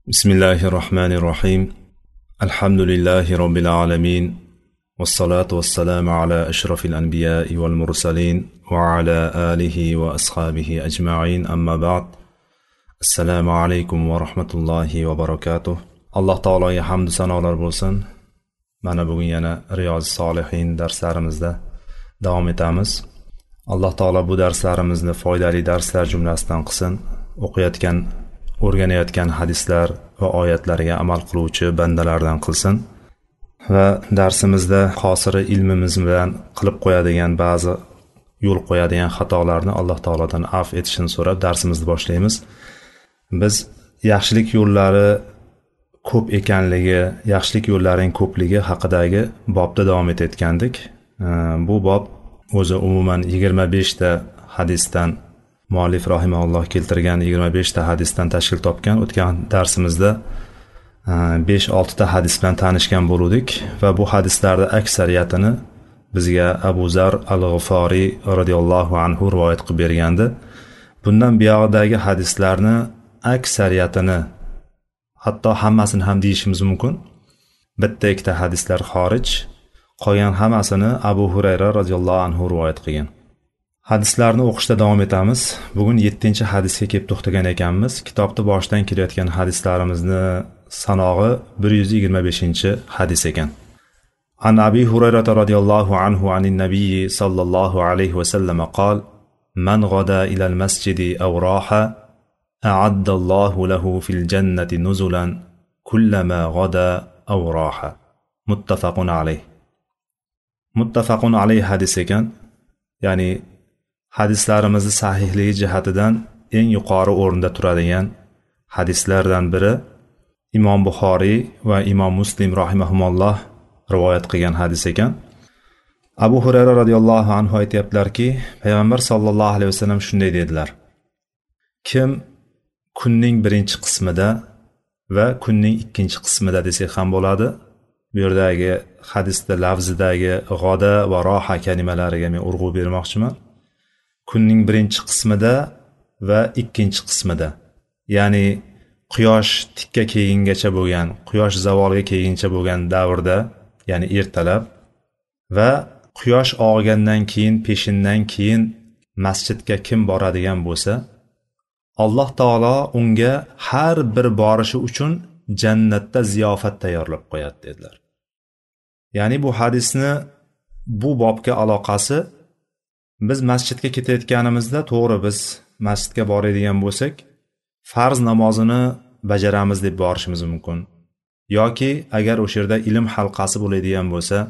بسم الله الرحمن الرحيم الحمد لله رب العالمين والصلاة والسلام على أشرف الأنبياء والمرسلين وعلى آله وأصحابه أجمعين أما بعد السلام عليكم ورحمة الله وبركاته الله تعالى حمد sanolar bo'lsin. Mana bugun yana Riyoz Solihin darslarimizda davom etamiz. Alloh taolo bu darslarimizni foydali darslar jumlasidan qilsin. O'rganayotgan hadislar va oyatlarga amal qiluvchi bandalardan qilsin va darsimizda qosiri ilmimiz bilan qilib qo'yadigan ba'zi yo'l qo'yadigan xatolarni Alloh taolodan afv etishini so'rab darsimizni boshlaymiz. Biz yaxshilik yo'llari ko'p ekanligi, yaxshilik yo'llarining ko'pligi haqidagi bobda davom etayotgandik. Bu bob o'zi umuman 25 ta hadisdan muallif rahimahulloh keltirgan 25 ta hadisdan tashkil topgan. O'tgan darsimizda 5-6 ta hadis bilan tanishgan bo'ldik va bu hadislarda aksariyatini bizga Abu Zar al-G'iforiy radhiyallohu anhu rivoyat qilib bergandi. Bundan buyog'idagi hadislarni aksariyatini, hatto hammasini ham deyishimiz mumkin. Bitta ikkita hadislar xorij, qolgan hammasini Abu Hurayra radhiyallohu anhu rivoyat qilgan. Hadislarni o'qishda davom etamiz. Bugun 7-hadisga kelib to'xtagan ekanmiz. Kitobda boshidan kelayotgan hadislarimizni sanog'i 125-hadis ekan. An Abi Hurayra radhiyallohu anhu anin nabiy sallallohu alayhi va sallam qol: "Man g'ada ila al-masjidi aw raha a'adda Allohu lahu fil jannati nuzulan kullama g'ada aw raha." Muttafaqun alayh. Muttafaqun alayh hadis ekan. Ya'ni hadislarimizni sahihligi jihatidan eng yuqori o'rinda turadigan hadislardan biri Imom Buxoriy va Imom Muslim rahimahumulloh rivoyat qilgan hadis ekan. Abu Hurayra radhiyallohu anhu aytibdilarki, payg'ambar sallallohu alayhi vasallam shunday dedilar: kim kunning birinchi qismida va kunning ikkinchi qismida desak ham bo'ladi. Bu yerdagi hadisda lafzidagi g'oda va roha kalimalariga men urg'u bermoqchiman. Kunning birinchi qismida va ikkinchi qismida, ya'ni quyosh tikka kelgungacha bo'lgan, quyosh zavolga kelguncha bo'lgan davrda, ya'ni ertalab va quyosh og'gandan keyin, peshindan keyin masjidga kim boradigan bo'lsa, Alloh taolo unga har bir borishi uchun jannatda ziyofat tayyorlab qo'yadi dedilar. Ya'ni bu hadisni bu bobga aloqasi, biz masjidga ketayotganimizda, to'g'ri biz masjidga boradigan bo'lsak, farz namozini bajaramiz deb borishimiz mumkin. Yoki agar o'sha yerda ilm halqasi bo'ladigan bo'lsa,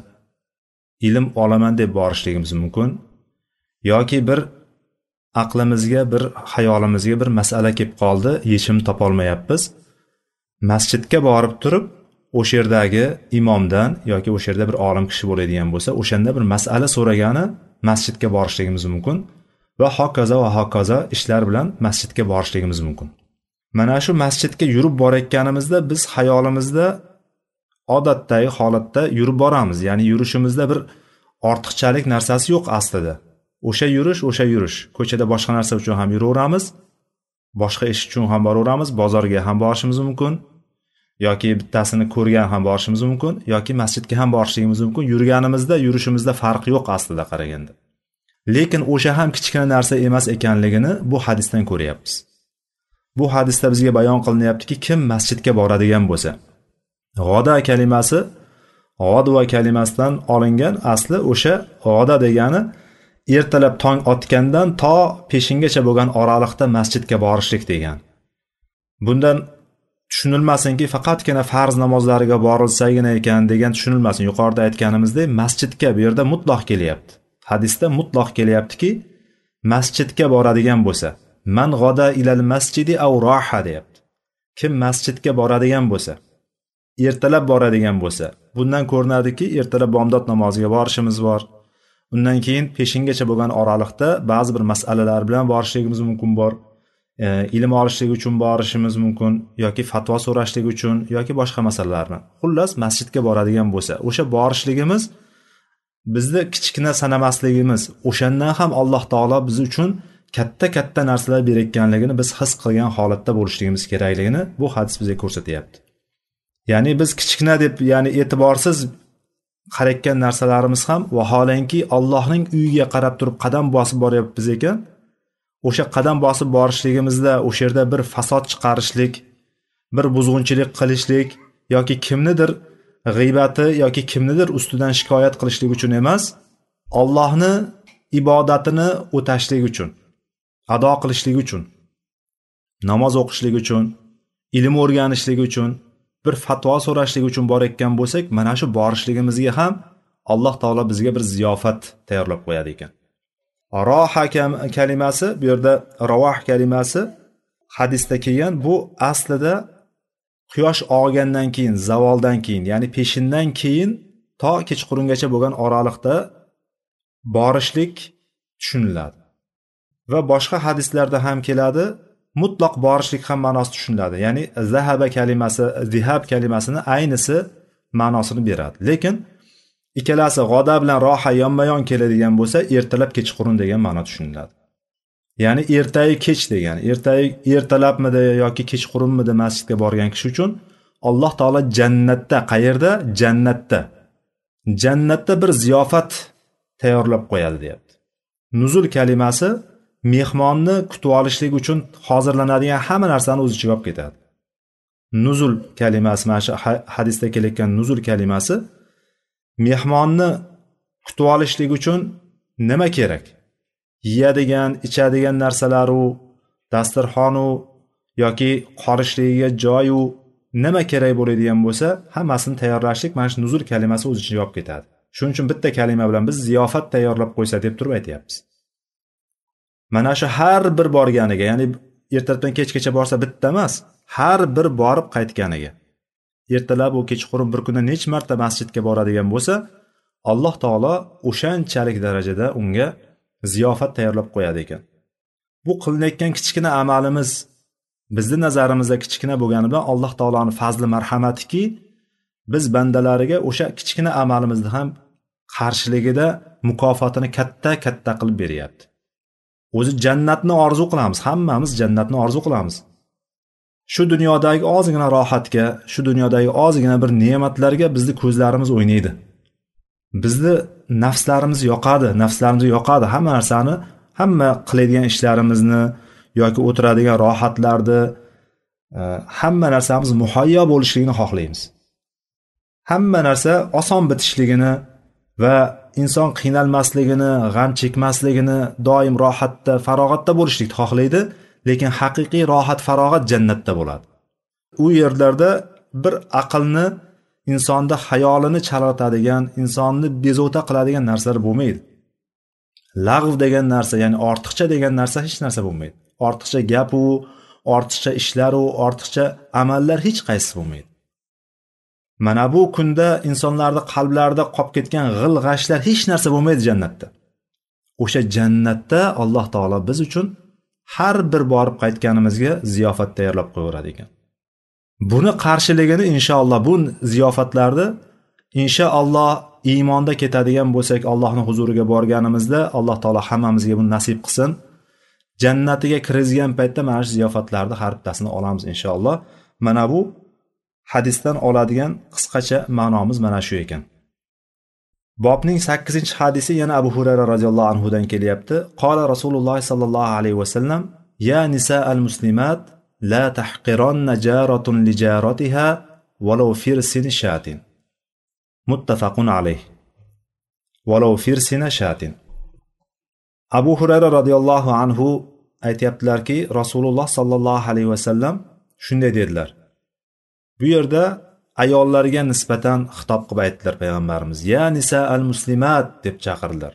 ilm olaman deb borishligimiz mumkin. Yoki bir aqlimizga, bir xayolimizga bir masala kelib qoldi, yechim topolmayapmiz. Masjidga borib turib, o'sha yerdagi imomdan yoki o'sha yerda bir olim kishi bo'ladigan bo'lsa, o'shanda bir masala so'ragani masjidga borishligimiz mumkin va hokazo ishlar bilan masjidga borishligimiz mumkin. Mana shu masjidga yurib borayotganimizda biz xayolimizda odatdagi holatda yurib boramiz. Ya'ni yurishimizda bir ortiqchalik narsasi yo'q aslida. O'sha yurish, ko'chada boshqa narsa uchun ham yuraveramiz, boshqa ish uchun ham boraveramiz, bozorga ham borishimiz mumkin, yoki bittasini ko'rgan ham borishimiz mumkin, yoki masjidga ham borishimiz mumkin. Yurganimizda, yurishimizda farq yo'q aslida qaraganda. Lekin o'sha ham kichkina narsa emas ekanligini bu hadisdan ko'ryapmiz. Bu hadisda bizga bayon qilinyaptiki, kim masjidga boradigan bo'lsa, g'oda kalimasi g'odva kalimasidan olingan, asli o'sha g'oda degani ertalab tong otgandan to peshingacha bo'lgan oraliqda masjidga borishlik degan. Bundan tushunilmasinki faqatgina farz namozlariga borilsagina ekan degan tushunilmasin. Yuqorida aytganimizdek, masjidga bu yerda mutlaq kelyapti. Hadisda mutlaq kelyaptiki, masjidga boradigan bo'lsa, man g'oda ilal masjidi aw raha deyapti. Kim masjidga boradigan bo'lsa, ertalab boradigan bo'lsa, bundan ko'rinadiki, ertalab bomdod namoziga borishimiz bor. Undan keyin peshingacha bo'lgan oraliqda ba'zi bir masalalar bilan borishligimiz mumkin bor. Ilm olishlik uchun borishimiz mumkin, yoki fatvo so'rashlik uchun, yoki boshqa masalalarni. Xullas, masjidga boradigan bo'lsa, o'sha borishligimiz bizni kichkina sanamasligimiz, o'shandan ham Alloh taolo biz uchun katta narsalar berayotganligini biz his qilgan holatda bo'lishligimiz kerakligini bu hadis bizga ko'rsatyapti. Ya'ni biz kichkina deb, ya'ni e'tiborsiz qarayotgan narsalarimiz ham vaholanki Allohning uyiga qarab turib qadam bosib boryapmiz ekan, o'sha qadam bosib borishligimizda o'sha yerda bir fasod chiqarishlik, bir buzg'unchilik qilishlik yoki kimnidir g'aybati yoki kimnidir ustidan shikoyat qilishlik uchun emas, Allohni ibodatini o'tashlik uchun, ado qilishlik uchun, namoz o'qishlik uchun, ilm o'rganishlik uchun, bir fatvo so'rashlik uchun borayotgan bo'lsak, mana shu borishligimizga ham Alloh taolo bizga bir ziyofat tayyorlab qo'yadi ekan. Roha kalimasi, bu yerda ravah kalimasi hadisda kelgan, bu aslida quyosh og'gandan keyin, zavoldan keyin, ya'ni peshindan keyin to kechqurungacha bo'lgan oraliqda borishlik tushuniladi. Va boshqa hadislarda ham keladi, mutlaq borishlik ham ma'nosi tushuniladi. Ya'ni zahaba kalimasi, zihab kalimasini aynisi ma'nosini beradi. Lekin ikkalasi g'oda bilan roha yonma-yon keladigan bo'lsa, ertalab kechqurun degan ma'no tushuniladi. Ya'ni ertayi kech degan, ertalabmidi yoki kechqurunmidi masjidga borgan kishi uchun Alloh taolo jannatda, qayerda? Jannatda bir ziyofat tayyorlab qo'yadi, deyapti. Nuzul kalimasi mehmonni kutib olishlik uchun hozirlanadigan hamma narsani o'z ichiga olib ketadi. Nuzul kalimasi, mana shu hadisda kelayotgan nuzul kalimasi mehmonni kutib olishlik uchun nima kerak? Yeyadigan, ichadigan narsalaru, dasturxonu yoki qorishligiga joyu nima kerak bo'ladigan bo'lsa, hammasini tayyorlashlik mana shu nuzul kalimasi o'z ichiga olib ketadi. Shuning uchun bitta kalima bilan biz ziyofat tayyorlab qo'ysa deb turib aytyapmiz. Mana shu har bir borganiga, ya'ni ertadan kechgacha borsa bitta emas, har bir borib qaytganiga, ertalab u kechqurun bir kunda necha marta masjidga boradigan bo'lsa, Alloh taolo o'shanchalik darajada unga ziyofat tayyorlab qo'yadi ekan. Bu qilinayotgan kichkina amalimiz bizning nazarimizda kichkina bo'lgani bilan Alloh taoloning fazli marhamatiki, biz bandalariga o'sha kichkina amalimizni ham qarshiligida mukofotini katta qilib beryapti. O'zi jannatni orzu qilamiz, hammamiz jannatni orzu qilamiz. Shu dunyodagi ozgina rohatga, shu dunyodagi ozgina bir ne'matlarga bizni ko'zlarimiz o'ynaydi. Bizni nafslarimiz yoqadi, hamma narsani, hamma qiladigan ishlarimizni yoki o'tiradigan rohatlarni, hamma narsamiz muhayyo bo'lishligini xohlaymiz. Hamma narsa oson bitishligini va inson qiynalmasligini, g'am chekmasligini, doim rohatda, farog'atda bo'lishlikni xohlaydi, lekin haqiqiy rohat, farog'at jannatda bo'ladi. U yerlarda bir aqlni, insonda xayolini chalg'itadigan, insonni bezovta qiladigan narsalar bo'lmaydi. Lag'v degan narsa, ya'ni ortiqcha degan narsa hech narsa bo'lmaydi. Ortiqcha gap u, ortiqcha ishlar u, ortiqcha amallar hech qaysi bo'lmaydi. Mana bu kunda insonlarning qalblarida qolib ketgan g'il-g'ashlar hech narsa bo'lmaydi jannatda. O'sha jannatda Alloh taolo biz uchun har bir borib qaytganimizga ziyofat tayyorlab qo'yadi ekan. Buni qarshiligini inshaalloh, bu ziyofatlarni inshaalloh iymonda ketadigan bo'lsak, Allohning huzuriga borganimizda Alloh taolo hammamizga buni nasib qilsin. Jannatiga kiradigan paytda mana shu ziyofatlarni har bittasini olamiz inshaalloh. Mana bu hadisdan oladigan qisqacha ma'nomiz mana shu ekan. Bobning 8-hadisi yana Abu Hurayra radhiyallohu anhu dan kelyapti. Qala Rasululloh sallallohu alayhi va sallam: "Ya nisa'al muslimat, la tahqiranna jaratun li jaratiha walau firsin shatin." Muttafaqun alayh. Walau firsina shatin. Abu Hurayra radhiyallohu anhu aytayaptilarki, Rasululloh sallallohu alayhi va sallam shunday dedilar. Bu yerda ayollarga nisbatan xitob qilib aytdilar payg'ambarimiz. Ya nisa al muslimat deb chaqirdilar.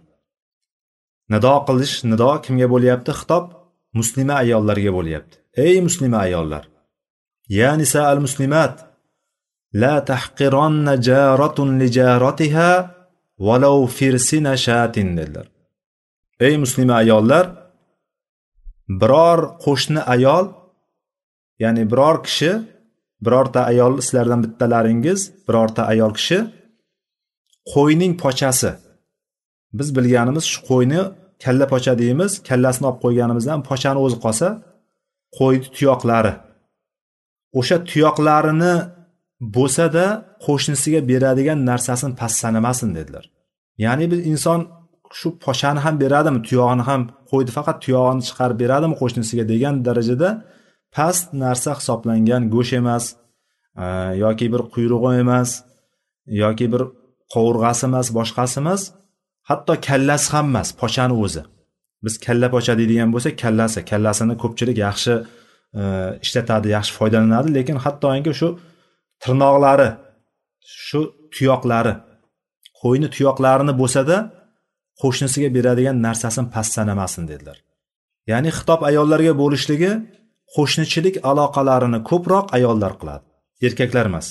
Nido kimga bo'lyapti? Xitob muslima ayollarga bo'lyapti. Ey muslima ayollar. Ya nisa al muslimat, la tahqiranna jaratun li jaratiha walau firsina shatin dedilar. Ey muslima ayollar, biror qo'shni ayol, ya'ni biror kishi, birorta ayol, sizlardan bittalaringiz, birorta ayol kishi qo'yning pochasi, biz bilganimiz shu qo'yni kalla pocha deymiz, kallasini olib qo'yganimizdan pochani o'zi qolsa, qo'yni tuyoqlari. O'sha tuyoqlarini bo'lsa-da qo'shnisiga beradigan narsasini past sanamasin dedilar. Ya'ni biz inson shu pochani ham beradimi, tuyog'ini ham, qo'ydi faqat tuyog'ini chiqarib beradimi qo'shnisiga degan darajada past narsa hisoblangan go'sht emas, yoki bir quyrug'i emas, yoki bir qovurg'asi emas, boshqasi emas, hatto kallasi ham emas, pochani o'zi. Biz kalla pocha deydigan bo'lsak, kallasini ko'pchilik yaxshi ishlatadi, yaxshi foydalanadi, lekin hattoki shu tirnoqlari, shu tuyoqlari, qo'yni tuyoqlarini bo'lsa-da qo'shnisiga beradigan narsasini past sanamasin dedilar. Ya'ni xitob ayollarga bo'lishligi qo'shnichilik aloqalarini ko'proq ayollar qiladi, erkaklar emas.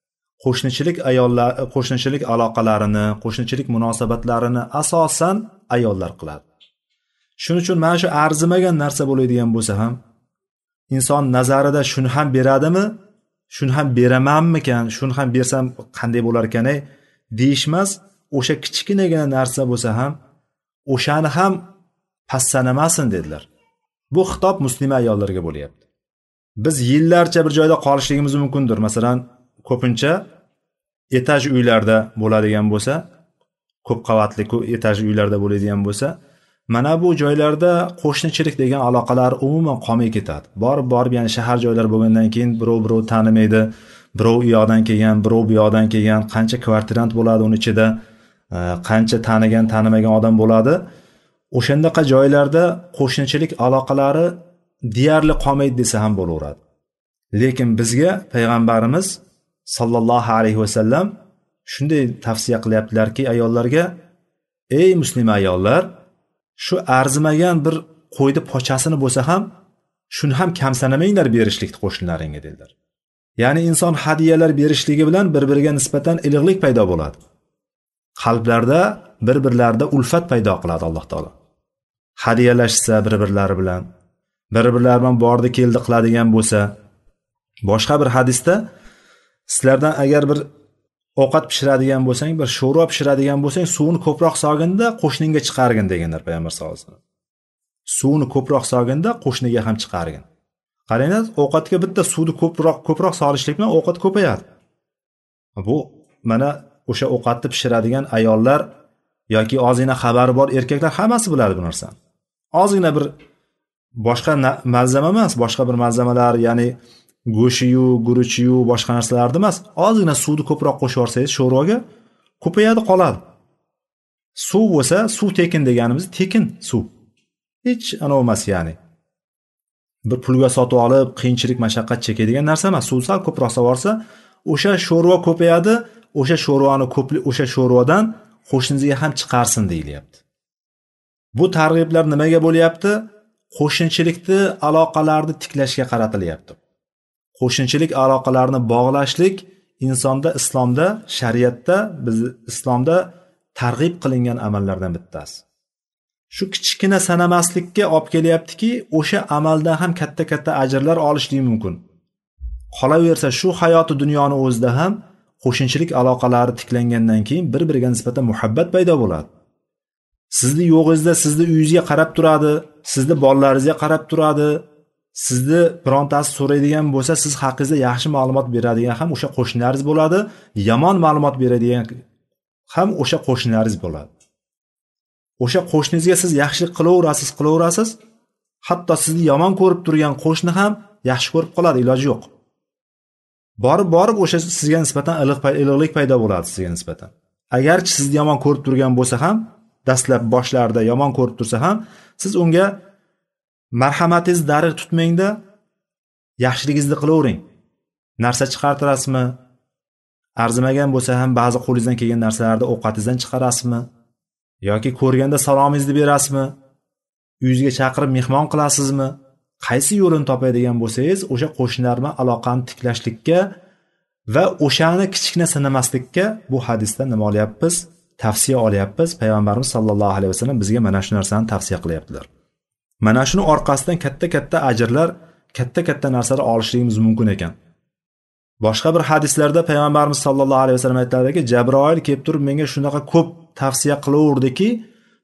Qo'shnichilik aloqalarini, qo'shnichilik munosabatlarini asosan ayollar qiladi. Shuning uchun mana shu arzimagan narsa bo'ladigan bo'lsa ham inson nazarida shuni ham beradimi, shuni ham beramanmikan, shuni ham bersam qanday bo'lar ekan deyishmas, o'sha kichkinagina narsa bo'lsa ham o'shani ham past sanamasin dedilar. Bu xitob muslima ayollarga bo'lyapti. Biz yillarcha bir joyda qolishligimiz mumkindir. Masalan, ko'pincha etaj uylarda bo'ladigan bo'lsa, ko'p qavatli etaj uylarda bo'ladigan bo'lsa, mana bu joylarda qo'shnichilik degan aloqalar umuman qolmay ketadi. Borib, ya'ni shahar joylar bo'lgandan keyin birov tanimaydi, birov u yoqdan kelgan, birov bu yoqdan kelgan, qancha kvartirant bo'ladi uning ichida, qancha tanimagan odam bo'ladi. O'shandaqa joylarda qo'shnichilik aloqalari deyarli qolmaydi desa ham bo'laveradi. Lekin bizga payg'ambarimiz sallallohu alayhi vasallam shunday tavsiya qilyaptilarki ayollarga, ey muslima ayollar, shu arzimagan bir qo'yni pochasini bo'lsa ham shuni ham kam sanamanglar berishlikni qo'shnilaringga dedilar. Ya'ni inson hadiyalar berishligi bilan bir-biriga nisbatan iliqlik paydo bo'ladi. Qalblarda bir-birlarida ulfat paydo qiladi Alloh taolo. Hadiyalashsa bir-birlari bilan bordi keldi qiladigan bo'lsa, boshqa bir hadisda sizlardan agar bir ovqat pishiradigan bo'lsang, bir sho'rva pishiradigan bo'lsang, suvni ko'proq solginda qo'shningga chiqargin deganlar payg'ambar sollallohu alayhi vasallam. Suvni ko'proq solginda qo'shniga ham chiqargin. Qaranglar, ovqatga bitta suvni ko'proq solishlik bilan ovqat ko'payadi. Bu mana o'sha ovqatni pishiradigan ayollar yoki ozgina xabari bor erkaklar hammasi biladi bu narsani. Ozgina bir boshqa malzama emas, boshqa bir malzamalar, ya'ni go'shiyu, guruchiyu, boshqa narsalarni emas, ozgina suvni ko'proq qo'shib yorsangiz sho'rvaga ko'payadi, qoladi. Suv bo'lsa, suv tekin deganimiz tekin suv. Hech anav emas, ya'ni bir pulga sotib olib qiyinchilik, mashaqqat chekadigan narsa emas. Suv sal ko'proq savorsa, o'sha sho'rva ko'payadi, o'sha sho'rvadan qo'shningizga ham chiqarsin deyilyapti. Bu targ'iblar nimaga bo'lyapti? Qo'shnichilikni aloqalarni tiklashga qaratilyapti. Qo'shnichilik aloqalarini bog'lashlik insonda, islomda, shariatda, biz islomda targ'ib qilingan amallardan bittasi. Shu kichkina sanamaslikka olib kelyaptiki, o'sha amaldan ham katta ajrlar olishlik mumkin. Qolaversa shu hayoti dunyoni o'zida ham qo'shnichilik aloqalari tiklangandan keyin bir-biriga nisbatan muhabbat paydo bo'ladi. Sizni yo'g'ingizda sizni uyingizga qarab turadi, sizni bolalaringizga qarab turadi. Sizni birontasi so'raydigan bo'lsa, siz haqingizda yaxshi ma'lumot beradigan ham o'sha qo'shnilaringiz bo'ladi, yomon ma'lumot beradigan ham o'sha qo'shnilaringiz bo'ladi. O'sha qo'shningizga siz yaxshilik qilaverasiz, hatto sizni yomon ko'rib turgan qo'shni ham yaxshi ko'rib qoladi, iloji yo'q. Borib o'sha sizga nisbatan iliqlik paydo bo'ladi sizga nisbatan. Agarchi sizni yomon ko'rib turgan bo'lsa ham, dastlab boshlarda yomon ko'rib tursa ham, siz unga marhamatingiz darig' tutmangda, yaxshiligingizni qilavering. Narsa chiqartirasizmi? Arzimagan bo'lsa ham ba'zi qo'lingizdan kelgan narsalarni ovqatingizdan chiqarasizmi? Yoki ko'rganda salomingizni berasizmi? Uyingizga chaqirib mehmon qilasizmi? Qaysi yo'lini topadigan bo'lsangiz, o'sha qo'shnilar bilan aloqani tiklashlikka va o'shani kichkina sanamaslikka bu hadisdan nima olyapmiz? Tavsiya olyapmiz. Payg'ambarimiz sollallohu alayhi vasallam bizga mana shu narsani tavsiya qilyaptilar. Mana shuni orqasidan katta ajrlar, katta narsalar olishligimiz mumkin ekan. Boshqa bir hadislarda payg'ambarimiz sollallohu alayhi vasallam aytadiki, Jabroil kelib turib menga shunaqa ko'p tavsiya qilaverdiki,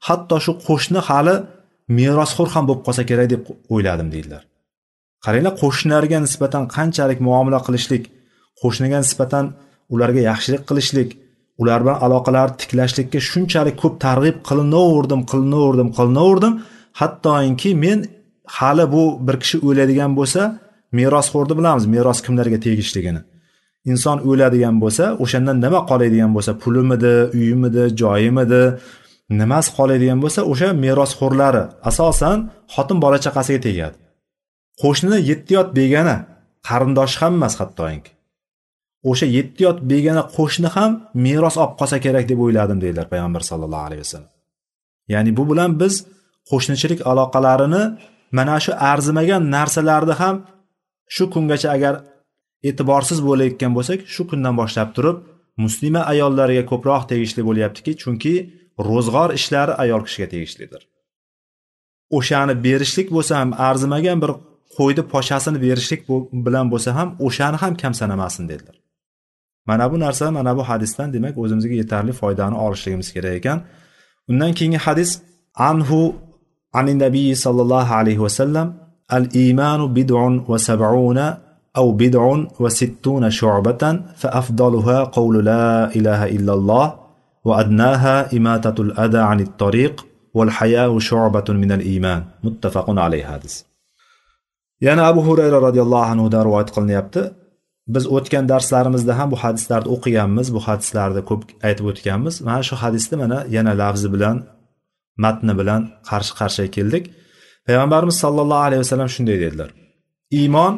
hatto shu qo'shni hali merosxo'r ham bo'lib qolsa kerak deb o'yladim deydilar. Qaranglar, qo'shnilarga nisbatan qanchalik muomala qilishlik, qo'shniga nisbatan ularga yaxshilik qilishlik, ular bilan aloqalarni tiklashlikka shunchalik ko'p targ'ib qilinaverdim, hattoki men hali bu bir kishi o'ladigan bo'lsa, merosxo'rni bilamiz, meros kimlarga tegishligini. Inson o'ladigan bo'lsa, o'shandan nima qoladigan bo'lsa, pulimidi, uyimidi, joyimidi, nimasi qoladigan bo'lsa, o'sha merosxo'rlari asosan xotin bola chaqasiga tegadi. Qo'shnini yettiyot begona, qarindosh ham emas hattoki. O'sha yettiyot begona qo'shni ham meros olib qolsa kerak deb o'yladim deydilar payg'ambar sollallohu alayhi vasallam. Ya'ni bu bilan biz qo'shnichilik aloqalarini mana shu arzimagan narsalarni ham shu kungacha agar e'tiborsiz bo'layotgan bo'lsak, shu kundan boshlab turib muslima ayollarga ko'proq tegishli bo'lyaptiki, chunki ro'zg'or ishlari ayol kishiga tegishlidir. O'shani berishlik bo'lsa ham, arzimagan bir qo'yni poshasini berishlik bilan bo'lsa ham, o'shani ham kam sanamasin dedilar. Mana bu narsa, mana bu hadisdan demak o'zimizga yetarli foydani olishligimiz kerak ekan. Undan keyingi hadis anhu anin nabiy sallallohu alayhi vasallam al-iymanu bid'un va sab'una aw bid'un va sittuna shu'batan fa afdaluha qawlu la ilaha illalloh va adnaha imatatul adha anit tariq wal haya'u shu'batun min al-iman. Muttafaqun alayhi hadis. Yana Abu Hurayra radhiyallohu anhu dan rivoyat qilinyapti. Biz o'tgan darslarimizda ham bu hadislarni o'qiganmiz, bu hadislarni ko'p aytib o'tganmiz. Mana shu hadisni mana yana lafzi bilan, matni bilan qarshi-qarshiga keldik. Payg'ambarimiz sollallohu alayhi vasallam shunday dedilar: iymon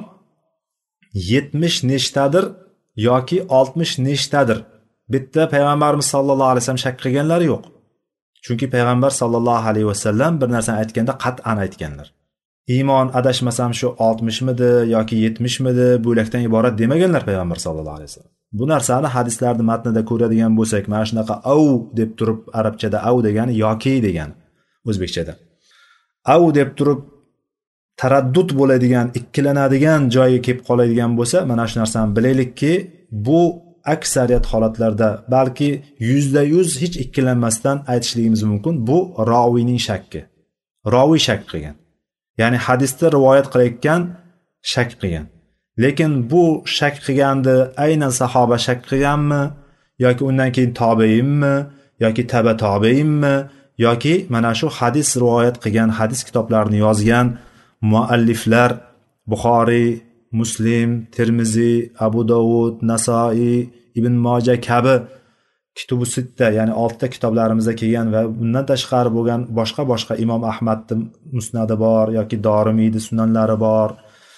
70 nechtadir yoki 60 nechtadir. Bitta payg'ambarimiz sollallohu alayhi vasallam shak qilganlari yo'q. Chunki payg'ambar sollallohu alayhi vasallam bir narsani aytganda qat'an aytganlar. Iymon adashmasam shu 60 midi yoki 70 midi bo'lakdan iborat demaganlar payg'ambar sollallohu alayhi vasallam. Bu narsani hadislarning matnida ko'radigan bo'lsak, mana shunaqa au deb turib arabchada au degani yoki degani, o'zbekchada au deb turib taraddud bo'ladigan, ikkilanadigan joyiga kelib qoladigan bo'lsa, mana shu narsani bilaylikki, bu aksariyat holatlarda, balki 100% hech ikkilanmasdan aytishligimiz mumkin, bu roviyning shakki. Roviy shak qilgan. Ya'ni hadisda rivoyat qilayotgan shak qilgan. Lekin bu shak qilgandi aynan sahoba shak qilganmi yoki undan keyin tobeinmi yoki taba tobeinmi yoki mana shu hadis rivoyat qilgan, hadis kitoblarini yozgan mualliflar Buxoriy, Muslim, Termiziy, Abu Dovud, Nasoiy, Ibn Moja kabi Kitubu Sitta, ya'ni 6 ta kitoblarimizda kelgan va bundan tashqari bo'lgan boshqa Imom Ahmadning musnadi bor yoki Dorimiyning sunanlari bor.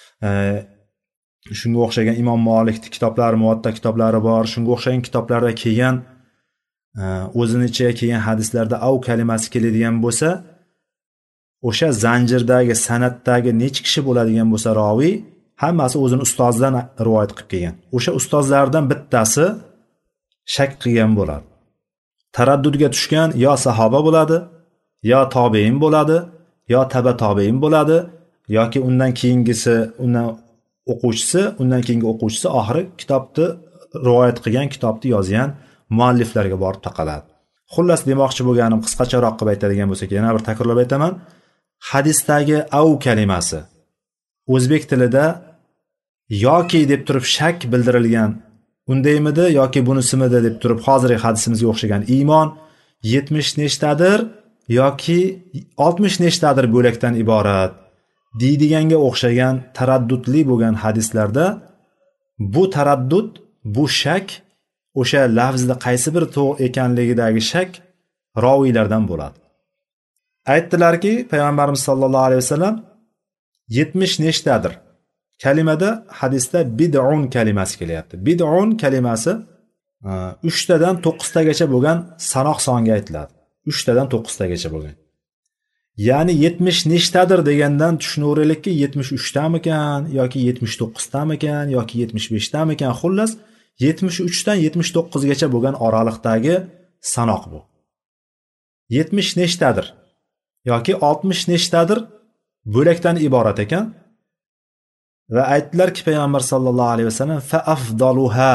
Shunga o'xshagan Imom Malikning kitoblari, Muvatta kitoblari bor. Shunga o'xshagan kitoblarda kelgan o'zini ichiga kelgan hadislarda av kalimasi keladigan bo'lsa, o'sha zanjirdagi, san'atdagi necha kishi bo'ladigan bo'lsa roviy, hammasi o'zini ustozidan rivoyat qilib kelgan. O'sha ustozlardan bittasi shak qilgan bo'ladi. Taraddudga tushgan yo sahoba bo'ladi, yo tobein bo'ladi, yo taba tobein bo'ladi, yoki undan keyingisi, undan o'quvchisi, undan keyingi o'quvchisi oxiri kitobni rivoyat qilgan, kitobni yozgan mualliflarga borib taqaladi. Xullas demoqchi bo'lganim, qisqacharoq qilib aytadigan bo'lsak, yana bir takrorlab aytaman. Hadisdagi au kalimasi o'zbek tilida yoki deb turib shak bildirilgan undaymidi yoki bunisimidi deb turib hozirgi hadisimizga o'xshagan iymon 70 nechtadir yoki 60 nechtadir bo'lakdan iborat deydiganga o'xshagan taraddudli bo'lgan hadislarda bu taraddud, bu shak, o'sha lafzda qaysi bir to'g'ri ekanligidagi shak roviylardan bo'ladi. Aytdilarki, payg'ambarimiz sollallohu alayhi vasallam 70 nechtadir kalimada hadisda bid'un kalimasi kelyapti. Bid'un kalimasi 3 tadan 9 tagacha bo'lgan sanoq songa aytiladi. 3 tadan 9 tagacha bo'lgan. Ya'ni 70 nechtadir degandan tushunaveraylikki 73 tamikan yoki 79 tamikan yoki 75 tamikan, xullas 73 dan 79 gacha bo'lgan oraliqdagi sanoq bu. 70 nechtadir yoki 60 nechtadir bo'lakdan iborat ekan. Va aytdilarki payg'ambar sollallohu alayhi vasallam fa afdaluha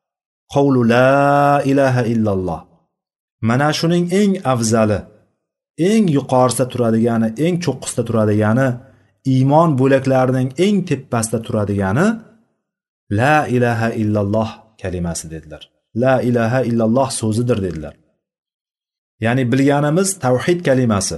qawlu la ilaha illalloh. Mana shuning eng afzali, eng yuqorisida turadigani, eng cho'qqisida turadigani, iymon bo'laklarining eng tepasida turadigani la ilaha illalloh kalimasi dedilar. La ilaha illalloh so'zidir dedilar. Ya'ni bilganimiz tavhid kalimasi,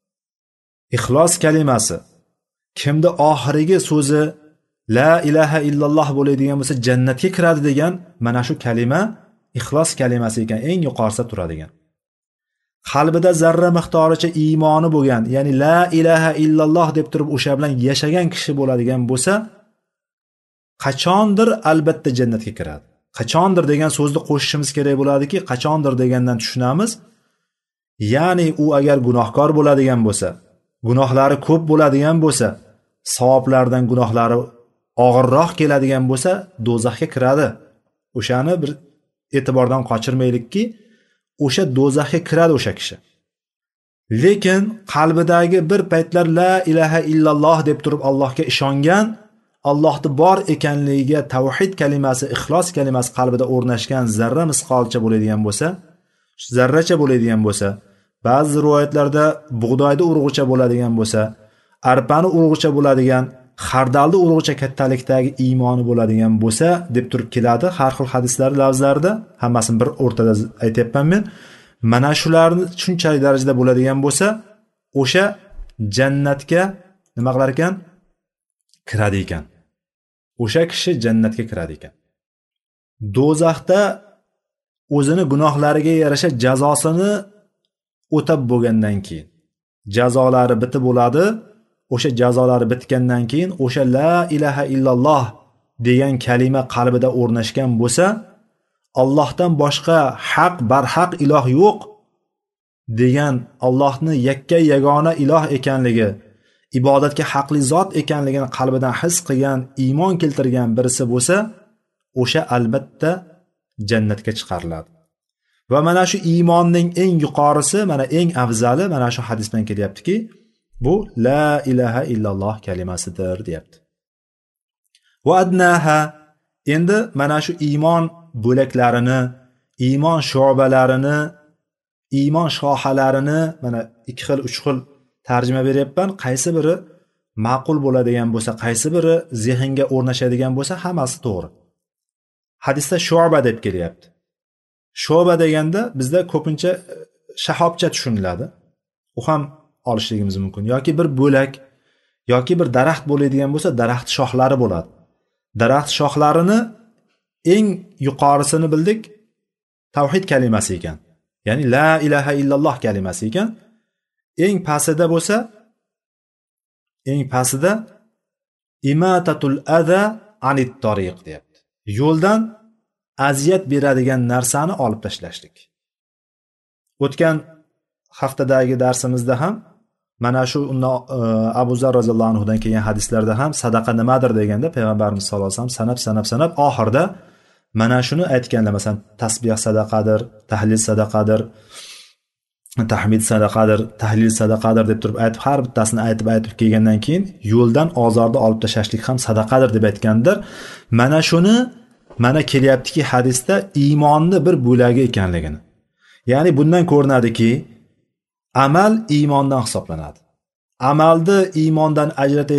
ixlos kalimasi. Kimda oxirgi so'zi la ilaha illalloh bo'ladigan bo'lsa jannatga kiradi degan mana shu kalima ixlos kalimasi ekan, eng yuqorisida turadigan. Qalbida zarra miqdoricha iymoni bo'lgan, ya'ni la ilaha illalloh deb turib o'sha bilan yashagan kishi bo'ladigan bo'lsa, qachondir albatta jannatga kiradi. Qachondir degan so'zni qo'shishimiz kerak bo'ladiki, qachondir degandan tushunamiz. Ya'ni u agar gunohkor bo'ladigan bo'lsa, gunohlari ko'p bo'ladigan bo'lsa, savoblardan gunohlari og'irroq keladigan bo'lsa, do'zaxga kiradi. O'shani bir e'tibordan qochirmaylikki, o'sha do'zaxga kiradi o'sha kishi. Lekin qalbidagi bir paytlar la ilaha illalloh deb turib Allohga ishongan, Allohning bor ekanligiga tavhid kalimasi, ixlos kalimasi qalbida o'rnashgan zarra misqolcha bo'ladigan bo'lsa, zarracha bo'ladigan bo'lsa, ba'zi rivoyatlarda bug'doyda urug'icha bo'ladigan bo'lsa, arpani urug'icha bo'ladigan, xardalni urug'icha kattalikdagi iymoni bo'ladigan bo'lsa deb turib keladi har xil hadislar lafzlarda, hammasini bir o'rtada aytayapman men. Mana shularni shunchalik darajada bo'ladigan bo'lsa, o'sha jannatga nima qilar ekan? Kiradi ekan. O'sha kishi jannatga kiradi ekan. Do'zaxda o'zini gunohlariga yarasha jazosini o'tab bo'lgandan keyin, jazolari bitib bo'ladi. O'sha jazolari bitgandan keyin o'sha la ilaha illalloh degan kalima qalbida o'rnashgan bo'lsa, Allohdan boshqa haq barhaq iloh yo'q degan, Allohni yakka yagona iloh ekanligi, ibodatga haqli zot ekanligini qalbidan his qilgan, iymon keltirgan birisi bo'lsa, o'sha albatta jannatga chiqariladi. Va mana shu iymonning eng yuqorisi, mana eng afzali mana shu hadisdan kelyaptiki, bu la ilaha illalloh kalimasidir deyapti. Va adnaha, endi mana shu iymon bo'laklarini, iymon sho'balarini, iymon shohalarini mana 2 xil, 3 xil tarjima beryapman. Qaysi biri ma'qul bo'ladigan bo'lsa, qaysi biri zehnga o'rnashadigan bo'lsa, hammasi to'g'ri. Hadisda sho'ba deb kelyapti. Sho'ba deganda bizda ko'pincha shahobcha tushuniladi. U ham olishligimiz mumkin. Yoki bir bo'lak, yoki bir daraxt bo'ladigan bo'lsa, daraxt shoxlari bo'ladi. Daraxt shoxlarini eng yuqorisini bildik, tavhid kalimasi ekan. Ya'ni la ilaha illalloh kalimasi ekan. Eng pastida bo'lsa, eng pastida imatatul adha anit tariq deyapti. Yo'ldan aziyat beradigan narsani olib tashlashlik. O'tgan haftadagi darsimizda ham mana shu Abu Zar roziyallohu anhu dan kelgan hadislarda ham sadaqa nimadir deganda payg'ambarimiz sollallohu alayhi vasallam sanab oxirida mana shuni aytganlar. Masalan, tasbih sadaqadir, tahlil sadaqadir, tahmid sadaqadir, tahlil sadaqadir deb turib aytib, har bittasini aytib kelgandan keyin yo'ldan ozorni olib tashlashlik ham sadaqadir deb aytgandir. Mana shuni mana kelyaptiki hadisda iymonni bir bo'lagi ekanligini. Ya'ni bundan ko'rinadiki, amal iymondan hisoblanadi. Amalni iymondan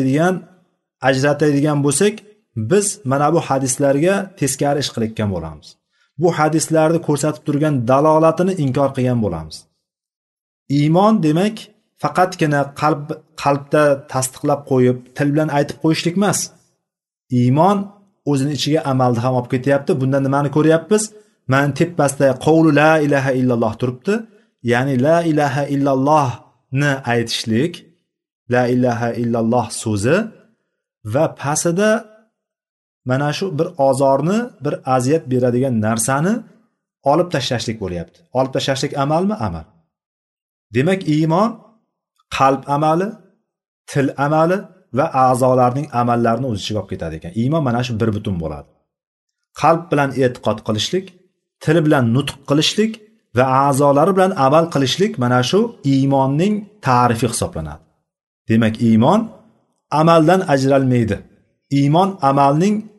ajratadigan bo'lsak, biz mana bu hadislarga teskari ish qilayotgan bo'lamiz. Bu hadislarni ko'rsatib turgan dalolatini inkor qilgan bo'lamiz. Iymon demak faqatgina qalbda tasdiqlab qo'yib, til bilan aytib qo'yishlik emas. Iymon o'zini ichiga amalni ham olib ketyapti. Bundan nimani ko'ryapmiz? Men tepasida qavlu la ilaha illalloh turibdi. Ya'ni la ilaha illallohni aytishlik, la ilaha illalloh so'zi va pastida mana shu bir ozorni, bir aziyat beradigan narsani olib tashlashlik bo'lyapti. Olib tashlashlik amalmi? Amal. Demak, iymon qalb amali, til amali va a'zolarning amallarini o'z ichiga olib ketadi ekan. Iymon mana shu bir butun bo'ladi. Qalb bilan e'tiqod qilishlik, til bilan nutq qilishlik va a'zolari bilan amal qilishlik mana shu iymonning ta'rifi hisoblanadi. Demak, iymon amaldan ajralmaydi.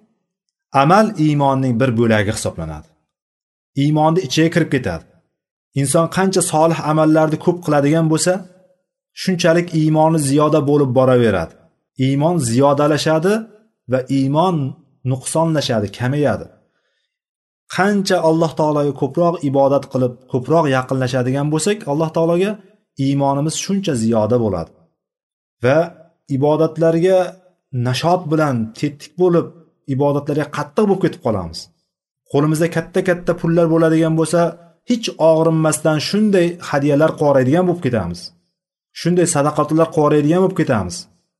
Amal iymonning bir bo'lagi hisoblanadi. Iymonning ichiga kirib ketadi. inson qancha solih amallarni ko'p qiladigan bo'lsa, shunchalik iymoni ziyoda bo'lib boraveradi. Iymon ziyodalashadi va iymon nuqsonlashadi, kamayadi. Qancha Alloh taologa ko'proq ibodat qilib, ko'proq yaqinlashadigan bo'lsak, Alloh taologa iymonimiz shuncha ziyoda bo'ladi. Va ibodatlarga nashot bilan tetik bo'lib, ibodatlarga qattiq bo'lib ketib qolamiz. Qo'limizda katta-katta pullar bo'ladigan bo'lsa, hech og'rinmasdan shunday hadiyalar qoraydigan bo'lib ketamiz. Shunday sadaqatlar qoraydigan bo'lib ketamiz.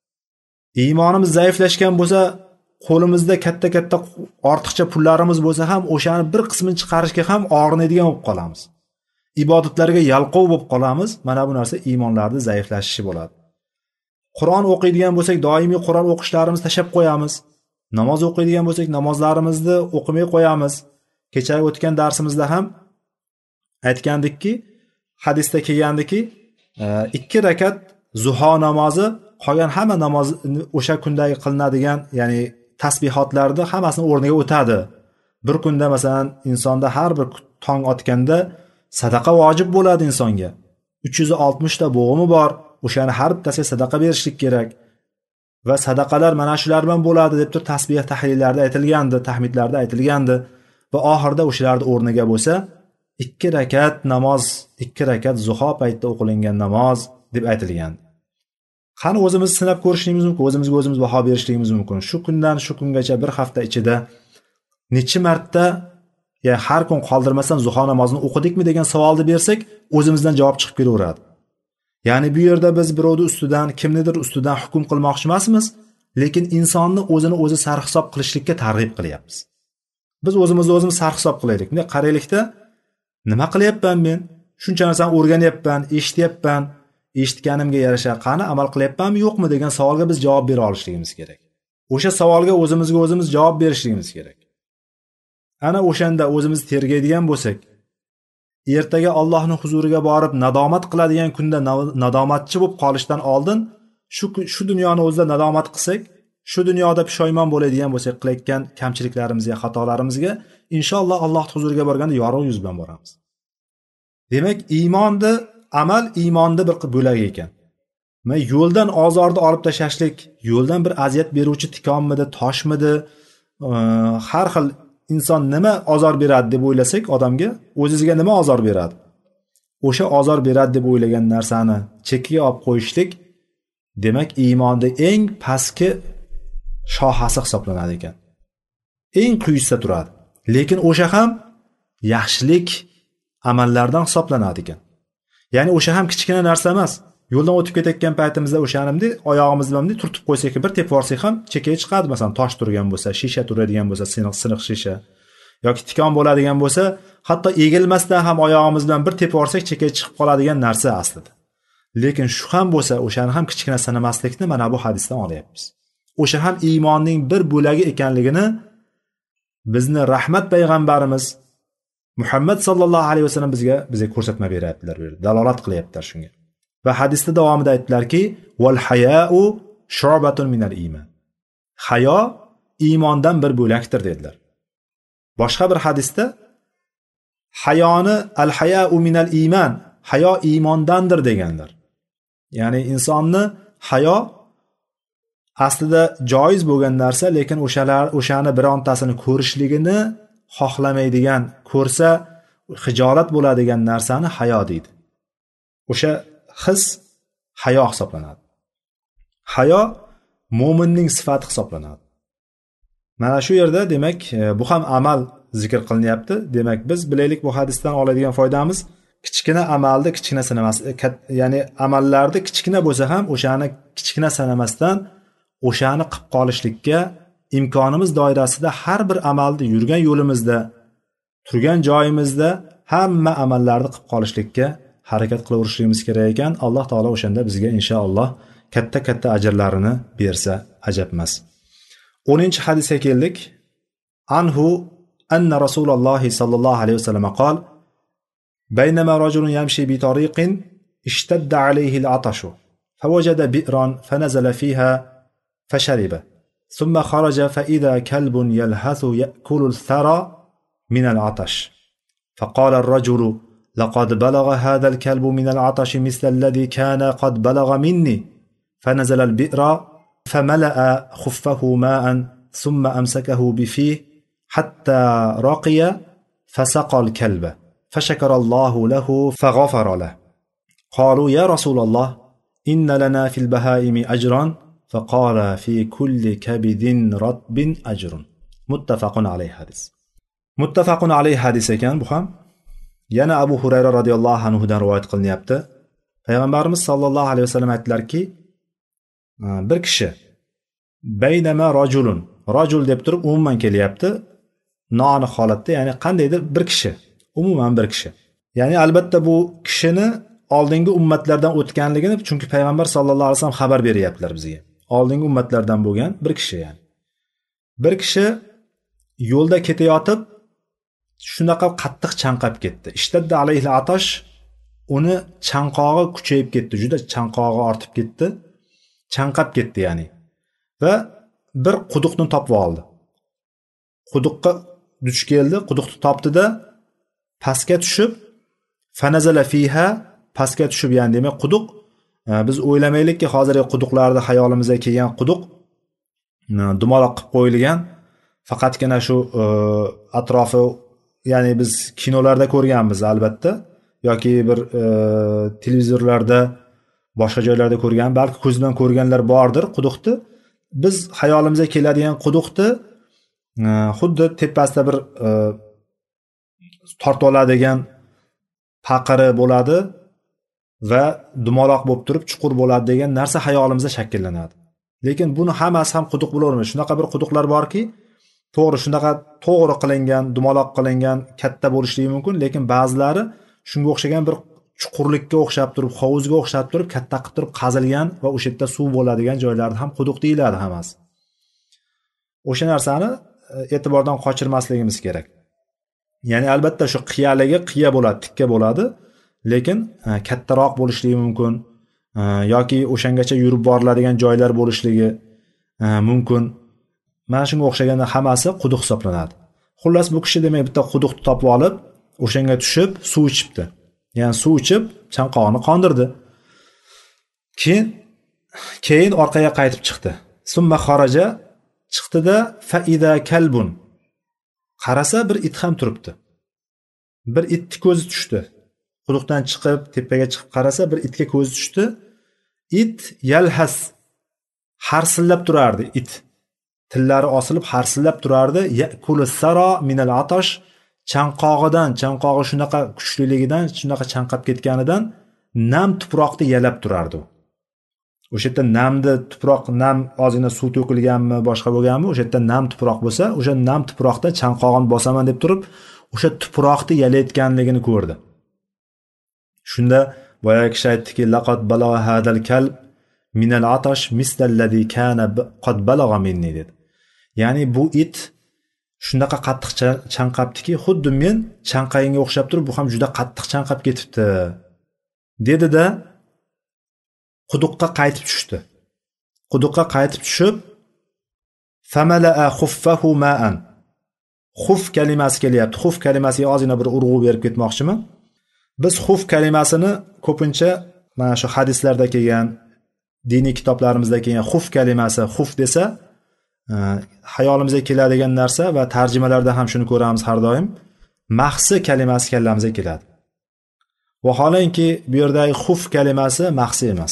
Iymonimiz zaiflashgan bo'lsa, qo'limizda katta-katta ortiqcha pullarimiz bo'lsa ham o'shani bir qismini chiqarishga ham og'rinadigan bo'lib qolamiz. Ibodatlarga yalqov bo'lib qolamiz. Mana bu narsa iymonlarning zaiflashishi bo'ladi. Qur'on o'qiydigan bo'lsak, doimiy Qur'on o'qishlarimizni tashab qo'yamiz. Namoz o'qiydigan bo'lsak, namozlarimizni o'qimay qo'yamiz. Kecha o'tgan darsimizda ham aytgandikki, hadisda kelgandiki, 2 rakat zuho namozi qolgan hamma namoz o'sha kundagi qilinadigan, ya'ni tasbihotlarni hammasini o'rniga o'tadi. Bir kunda masalan insonda har bir tong otganda sadaqa vojib bo'ladi insonga. 360 ta bo'g'imi bor. O'shani har bittasiga sadaqa berishlik kerak. Va sadaqalar mana shular bilan bo'ladi deb turib tasbih tahlillarda aytilgandi, tahmidlarda aytilgandi va oxirida o'shalarning o'rniga bo'lsa 2 rakat namoz, 2 rakat zuho paytida o'qilingan namoz deb aytilgan. Qani o'zimiz sinab ko'rishimiz mumkin, o'zimizga o'zimiz baho berishligimiz mumkin. Shu kundan shu kungacha bir hafta ichida necha marta, ya'ni har kun qoldirmasdan zuho namozini o'qidikmi degan savolni bersak, o'zimizdan javob chiqib kelaveradi. Ya'ni bu yerda biz birovning ustidan, kimnidir ustidan hukm qilmoqchi emasmiz, lekin insonni o'zini o'zi sarhisob qilishlikka targ'ib qilyapmiz. Biz o'zimizni o'zimiz sarhisob qilaylik. Bunday qaraylikda, nima qilyapman men? Shuncha narsani o'rganyapman, eshityapman, eshitganimga yarasha qani amal qilyapmanmi, yo'qmi degan savolga biz javob bera olishligimiz kerak. O'sha savolga o'zimizga o'zimiz javob berishligimiz kerak. Ana o'shanda o'zimizni tergaydigan bo'lsak, ertaga Allohning huzuriga borib nadomat qiladigan kunda nadomatchi bo'lib qolishdan oldin shu dunyoni o'zida nadomat qilsak, shu dunyoda pushaymon bo'ladigan bo'lsak, qilayotgan kamchiliklarimizga, xatolarimizga inshaalloh Alloh huzuriga borganda yorug' yuz bilan boramiz. Demak, iymonni, amal iymonni bir bo'lagi ekan. Men yo'ldan ozorni olib tashlashlik, yo'ldan bir aziyat beruvchi tikonmidi, toshmidi, har xil inson nima ozor beradi deb o'ylasak odamga, o'zingizga nima ozor beradi? O'sha ozor beradi deb o'ylagan narsani chekkiga olib qo'yishlik, demak iymonning eng pastki shohasi hisoblanadi ekan. Eng quyisida turadi. Lekin o'sha ham yaxshilik amallardan hisoblanadi ekan. Ya'ni o'sha ham kichkina narsa emas. Yo'ldan o'tib ketayotgan paytimizda o'shanimni oyog'imiz bilan turtib qo'ysak, bir tepib olsak ham chekkaga chiqadi. Masalan, tosh turgan bo'lsa, shisha turadigan bo'lsa, siniq shisha yoki tikon bo'ladigan bo'lsa, hatto egilmasdan ham oyog'imiz bilan bir tepib olsak chekkaga chiqib qoladigan narsa aslida. Lekin shu ham bo'lsa, o'shani ham kichkina sanamaslikni mana bu hadisdan olyapmiz. O'sha ham iymonning bir bo'lagi ekanligini bizni rahmat payg'ambarimiz Muhammad sallallohu alayhi vasallam bizga ko'rsatma beryaptilar, dalolat qilyaptilar shunga. Va hadisda davomida aytdilarki, "Val haya'u shu'batun minal iymon." Hayo iymondan bir bo'lakdir dedilar. Boshqa bir hadisda hayoni al-haya'u minal iymon, hayo iymondandir deganlar. Ya'ni insonni hayo aslida joiz bo'lgan narsa, lekin o'shani birontasini ko'rishligini xohlamaydigan, ko'rsa hijolat bo'ladigan narsani hayo deydi. O'sha his hayo hisoblanadi. Hayo mo'minning sifati hisoblanadi. Mana shu yerda demak bu ham amal zikr qilinyapti. Demak biz bilaylik, bu hadisdan oladigan foydamiz kichkina amalni kichkina sanamas, ya'ni amallarni kichkina bo'lsa ham o'shani kichkina sanamasdan o'shani qilib qolishlikka imkonimiz doirasida har bir amalni yurgan yo'limizda, turgan joyimizda hamma amallarni qilib qolishlikka harakat qilaverishimiz kerak ekan. Alloh taolo o'shanda bizga inshaalloh katta ajrlarini bersa ajab emas. 10-hadisga keldik. Anhu anna Rasululloh sallallohu alayhi vasallam qol: "Baynama rajulun yamshi bi tariqin ishtadda alayhi al-atashu fawajada bi'ran fanazala fiha fashariba thumma kharaja fa idha kalbun yalhathu ya'kulu al-thara min al-atash faqala ar-rajulu لقد بلغ هذا الكلب من العطش مثل الذي كان قد بلغ مني فنزل البئر فملأ خفه ماء ثم أمسكه بفيه حتى رقي فسقى الكلب فشكر الله له فغفر له قالوا يا رسول الله إن لنا في البهائم أجرا فقال في كل كبد رطب أجر متفق عليه hadis. Muttafaqun alayhi hadis ekan bu ham. Yana Abu Hurayra radhiyallohu anhu dan rivoyat qilinyapti. Payg'ambarimiz sollallohu alayhi vasallam aytdilarki, bir kishi baynama rajul deb turib umuman kelyapti. Noaniq holatda, ya'ni qandaydir bir kishi, umuman bir kishi. Ya'ni albatta bu kishini oldingi ummatlardan o'tganligini, chunki payg'ambar sollallohu alayhi vasallam xabar beryaptilar bizga. Oldingi ummatlardan bo'lgan bir kishi ya'ni. Bir kishi yo'lda ketayotib shunaqa qattiq chanqab ketdi. Ishtadda alayhi atash, uni chanqog'i kuchayib ketdi, juda chanqog'i ortib ketdi. Chanqab ketdi ya'ni. Va bir quduqni topib oldi. Quduqqa duch keldi, quduqni topdi-da pastga tushib fanazala fiha, pastga tushib, ya'ni demak quduq, biz o'ylamaylikki hozirgi quduqlarda hayolimizga kelgan quduq dumaloq qilib qo'yilgan, faqatgina shu atrofi, ya'ni biz kinolarda ko'rganmiz albatta, yoki bir televizorlarda boshqa joylarda ko'rgan, balki ko'z bilan ko'rganlar bordir quduqni. Biz hayolimizga keladigan quduqni xuddi tepasida bir tortib oladigan paqiri bo'ladi va dumaloq bo'lib turib chuqur bo'ladi degan narsa hayolimizda shakllanadi. Lekin buni hammasi ham quduq bo'lavermaydi. Shunaqa bir quduqlar borki, to'g'ri shunaqa to'g'ri qilingan, dumaloq qilingan, katta bo'lishligi mumkin, lekin ba'zilari shunga o'xshagan bir chuqurlikka o'xshab turib, hovuzga o'xshab turib, katta qilib turib qazilgan va o'sha yerda suv bo'ladigan joylarda ham quduq deyiladi hammasi. O'sha narsani e'tibordan qochirmasligimiz kerak. Ya'ni albatta shu qiyaligi qiya bo'ladi, tikka bo'ladi, lekin kattaroq bo'lishligi mumkin yoki o'shangacha yurib boriladigan joylar bo'lishligi mumkin. Mana shunga o'xshagan hammasi quduq hisoblanadi. Xullas bu kishi demak bitta quduqni topib olib, o'shanga tushib suv ichibdi. Ya'ni suv ichib chanqog'ini qondirdi. Keyin orqaga qaytib chiqdi. Summa xaraja, chiqdi-da faida kalbun. Qarasa bir it ham turibdi. Bir itni ko'zi tushdi. Quduqdan chiqib, tepaga chiqib qarasa bir itga ko'zi tushdi. It yalhas, harsillab turardi it. Tillari osilib harsillab turardi. Yakulu sara min al-atash, chanqog'i shunaqa kuchliligidan, shunaqa chanqab ketganidan nam tuproqni yalab turardi. O'sha yerda namni tuproq, nam ozgina suv to'kilganmi, boshqa bo'lganmi, o'sha yerda nam tuproq bo'lsa, o'sha nam tuproqda chanqog'ini bosaman deb turib, o'sha tuproqni yalayotganligini ko'rdi. Shunda boyagi kishi aytdiki, laqad balagha hadal kalb min al-atash mislallazi kana qad balagha minni dedi. Ya'ni bu it shunaqa qattiq chanqabdiki, xuddi men chanqayinga o'xshab turib, bu ham juda qattiq chanqab ketibdi dedi-da quduqqa qaytib tushdi. Quduqqa qaytib tushib famala'a khuffahu ma'an. Xuf kalimasi kelyapti. Xuf kalimasiga ozgina bir urg'u berib ketmoqchiman. Biz xuf kalimasini ko'pincha mana shu hadislarda kelgan, diniy kitoblarimizda kelgan xuf kalimasi, xuf desa hayolimizga keladigan narsa va tarjimalarda ham shuni ko'ramiz har doim. Mahsi kalimasi kallamizga keladi. Vaholanki bu yerdagi xuf kalimasi mahsi emas.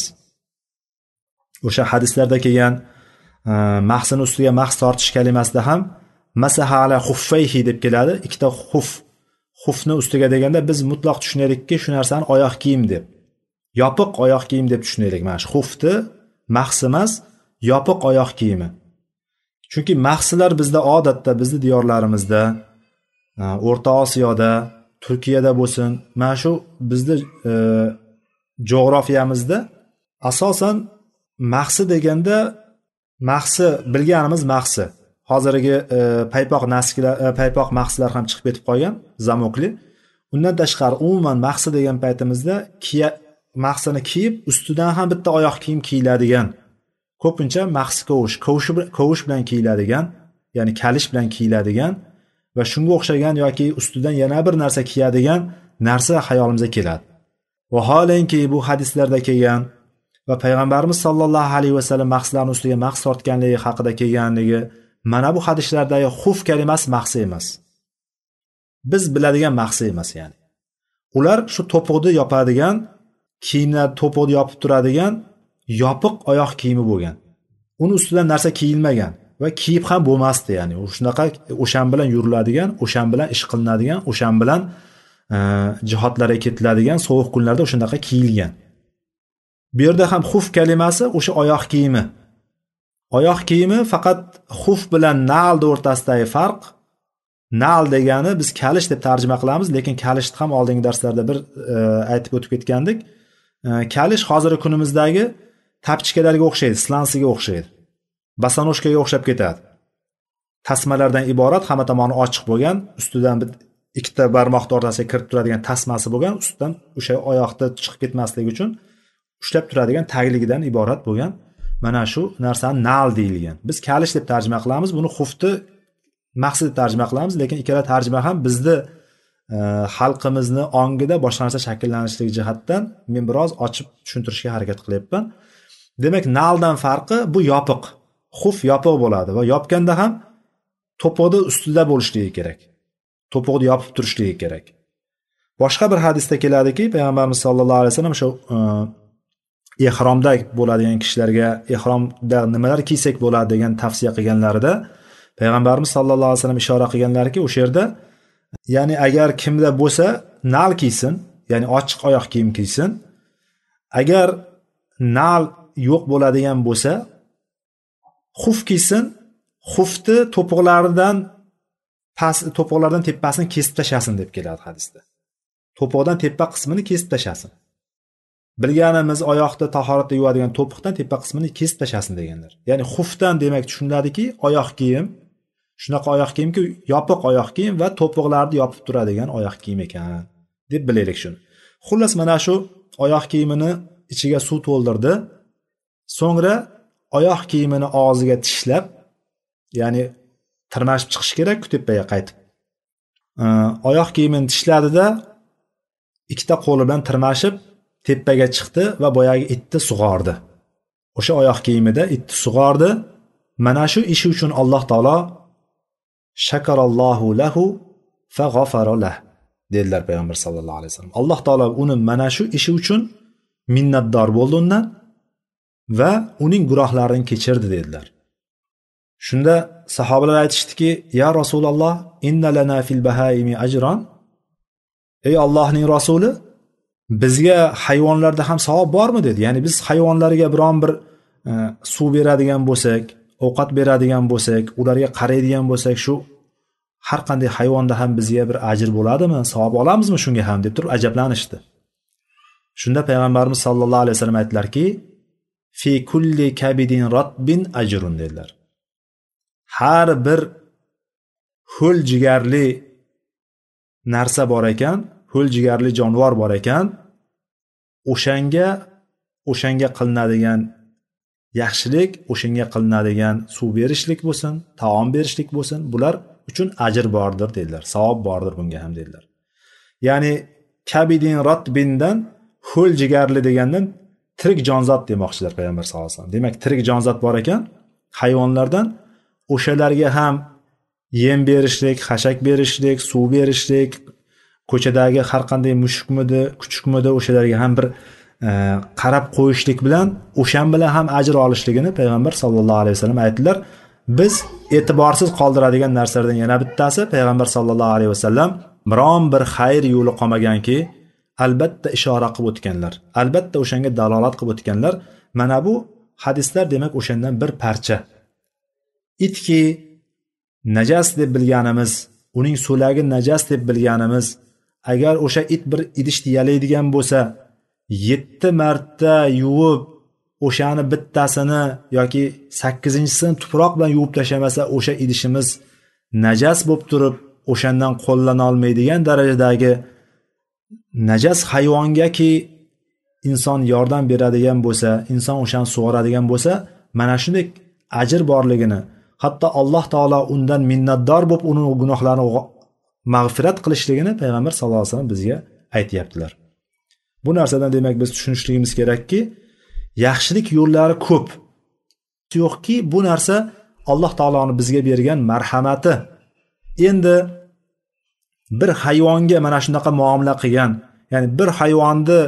O'sha hadislarda kelgan mahsini ustiga mahs tortish kalimasida ham masaha ala xuffayhi deb keladi. Ikkita xufni ustiga deganda biz mutlaq tushunaylikki shu narsani oyoq kiyim deb, yopiq oyoq kiyim deb tushunaylik. Mana shu xufni mahs emas, yopiq oyoq kiyimi. Chunki mahslar bizda odatda, bizni diyorlarimizda, O'rta Osiyoda, Turkiyada bo'lsin, mana shu bizni jo'g'rafiyamizda asosan mahsi deganda, mahsi bilganimiz mahsi. Hozirgi paypoq mahslar ham chiqib ketib qolgan, zamokli. Undan tashqari umuman mahsi degan paytimizda mahsini kiyib, ustidan ham bitta oyoq kiyim kiyiladigan, ko'pincha mahsi kovush bilan kiyiladigan, ya'ni kalish bilan kiyiladigan va shunga o'xshagan yoki ustidan yana bir narsa kiyadigan narsa hayolimizga keladi. Vaholanki bu hadislarda kelgan va payg'ambarimiz sollallohu alayhi vasallam mahslarning ustiga mahs tortganligi haqida kelganligi, mana bu hadislardagi xuf kalimasi mahsi emas. Biz biladigan mahsi emas ya'ni. Ular shu to'piqni yopadigan, kiyimlar to'piqni yopib turadigan yopiq oyoq kiyimi bo'lgan. Uni ustidan narsa kiyilmagan va kiyib ham bo'lmasdi ya'ni. Shunaqa o'shan bilan yuriladigan, o'shan bilan ish qilinadigan, o'shan bilan jihatlarga ketiladigan sovuq kunlarda o'shanaqa kiyilgan. Bu yerda ham xuf kalimasi o'sha oyoq kiyimi. Oyoq kiyimi faqat xuf bilan nal o'rtasidagi farq. Nal degani biz kalish deb tarjima qilamiz, lekin kalishni ham oldingi darslarda bir aytib o'tib ketgandik. Kalish hozirgi kunimizdagi tapchikalarga o'xshaydi, slansiga o'xshaydi. Basanoshkaga o'xshab ketadi. Tasmalardan iborat, hamma tomoni ochiq bo'lgan, ustidan ikkita barmoqni o'rtasiga kirib turadigan tasmasi bo'lgan, ustidan o'sha oyoqda chiqib ketmasligi uchun ushlab turadigan tagligidan iborat bo'lgan. Mana shu narsani nal deyilgan. Biz kalish deb tarjima qilamiz, buni xufni mahsi deb tarjima qilamiz, lekin ikkala tarjima ham bizni xalqimizni ongida boshqa narsa shakllanishlik jihatdan men biroz ochib tushuntirishga harakat qilyapman. Demak, naldan farqi bu yopiq. Xuf yopiq bo'ladi va yopganda ham to'piqni ustida bo'lishligi kerak. To'piqni yopib turishligi kerak. Boshqa bir hadisda keladiki, payg'ambarimiz sollallohu alayhi vasallam shu ihromda bo'ladigan kishilarga ihromda nimalar kiysak bo'ladi degan tavsiya qilganlarida payg'ambarimiz sollallohu alayhi vasallam ishora qilganlarki, o'sha yerda ya'ni agar kimda bo'lsa nal kiysin, ya'ni ochiq oyoq kiyim kiysin. Agar nal yo'q bo'ladigan bo'lsa, xuf kiysin, xufni to'piqlardan tepasini kesib tashlasin deb keladi hadisda. To'piqdan tepa qismini kesib tashlasin. Bilganimiz oyoqda tahoratda yuvadigan to'piqdan tepa qismini kesib tashlasin deganlar. Ya'ni xufdan demak tushuniladiki, oyoq kiyim, shunaqa oyoq kiyimki, yopiq oyoq kiyim va to'piqlarni yopib turadigan oyoq kiyim ekan deb bilaylik shuni. Xullas, mana shu oyoq kiyimini ichiga suv to'ldirdi. So'ngra oyoq kiyimini og'ziga tishlab, ya'ni tirmashib chiqish kerak tepaga qaytib. Oyoq kiyimini tishladida ikkita qo'li bilan tirmashib tepaga chiqdi va boyagi itni sug'ordi. O'sha oyoq kiyimida itni sug'ordi. Mana shu ishi uchun Alloh taolo shakarallohu lahu fa g'afara lah dedilar payg'ambar sollallohu alayhi vasallam. Alloh taolo uni mana shu ishi uchun minnatdor bo'ldi undan va uning gunohlarini kechirdi dedilar. Shunda sahobalar aytishdiki, ya Rasululloh, inna lana fil bahaimi ajran. Ey Allohning rasuli, bizga hayvonlarda ham savob bormi dedi. Ya'ni biz hayvonlarga biron bir suv beradigan bo'lsak, ovqat beradigan bo'lsak, ularga qaraydigan bo'lsak, shu har qanday hayvonda ham bizga bir ajr bo'ladimi? Savob olamizmi shunga ham deb turib ajablanishdi. Shunda payg'ambarimiz sollallohu alayhi vasallam aytdilarki, fi kulli kabidin ratbin ajrun dedilar. Har bir ho'l jigarli narsa bor ekan, ho'l jigarli jonivor bor ekan, o'shanga qilinadigan yaxshilik, o'shanga qilinadigan suv berishlik bo'lsin, taom berishlik bo'lsin, bular uchun ajr bordir dedilar, savob bordir bunga ham dedilar. Ya'ni kabidin ratbindan ho'l jigarli degandan tirik jonzot demoqchilar payg'ambar sollallohu alayhi vasallam. Demak, tirik jonzot bor ekan hayvonlardan, o'shalarga ham yem berishlik, xashak berishlik, suv berishlik, ko'chadagi har qanday mushukmidi, kuchukmidi o'shalarga ham bir qarab qo'yishlik bilan o'shan bilan ham ajr olishligini payg'ambar sollallohu alayhi vasallam aytdilar. Biz e'tiborsiz qoldiradigan narsalardan yana bittasi, payg'ambar sollallohu alayhi vasallam biron bir xayr yo'li qolmaganki, albatta ishora qilib o'tganlar. Albatta o'shanga dalolat qilib o'tganlar. Mana bu hadislar demak o'shandan bir parcha. Itki najas deb bilganimiz, uning so'lagi najas deb bilganimiz, agar o'sha it bir idishni yalaydigan bo'lsa, 7 marta yuvib, o'shani bittasini yoki 8-sini tuproq bilan yuvib tashlamasa, o'sha idishimiz najas bo'lib turib, o'shandan qo'llana olmaydigan darajadagi najas hayvongaki inson yordam beradigan bo'lsa, inson o'shani sug'oradigan bo'lsa, mana shunday ajr borligini, hatto Alloh taolo undan minnatdor bo'lib, uning gunohlarini mag'firat qilishligini payg'ambar sollallohu alayhi vasallam bizga aytyaptilar. Bu narsadan demak biz tushunishligimiz kerakki, yaxshilik yo'llari ko'p. Yo'qki, bu narsa Alloh taoloning bizga bergan marhamati. Endi bir hayvonga mana shunaqa muomala qilgan, ya'ni bir hayvonni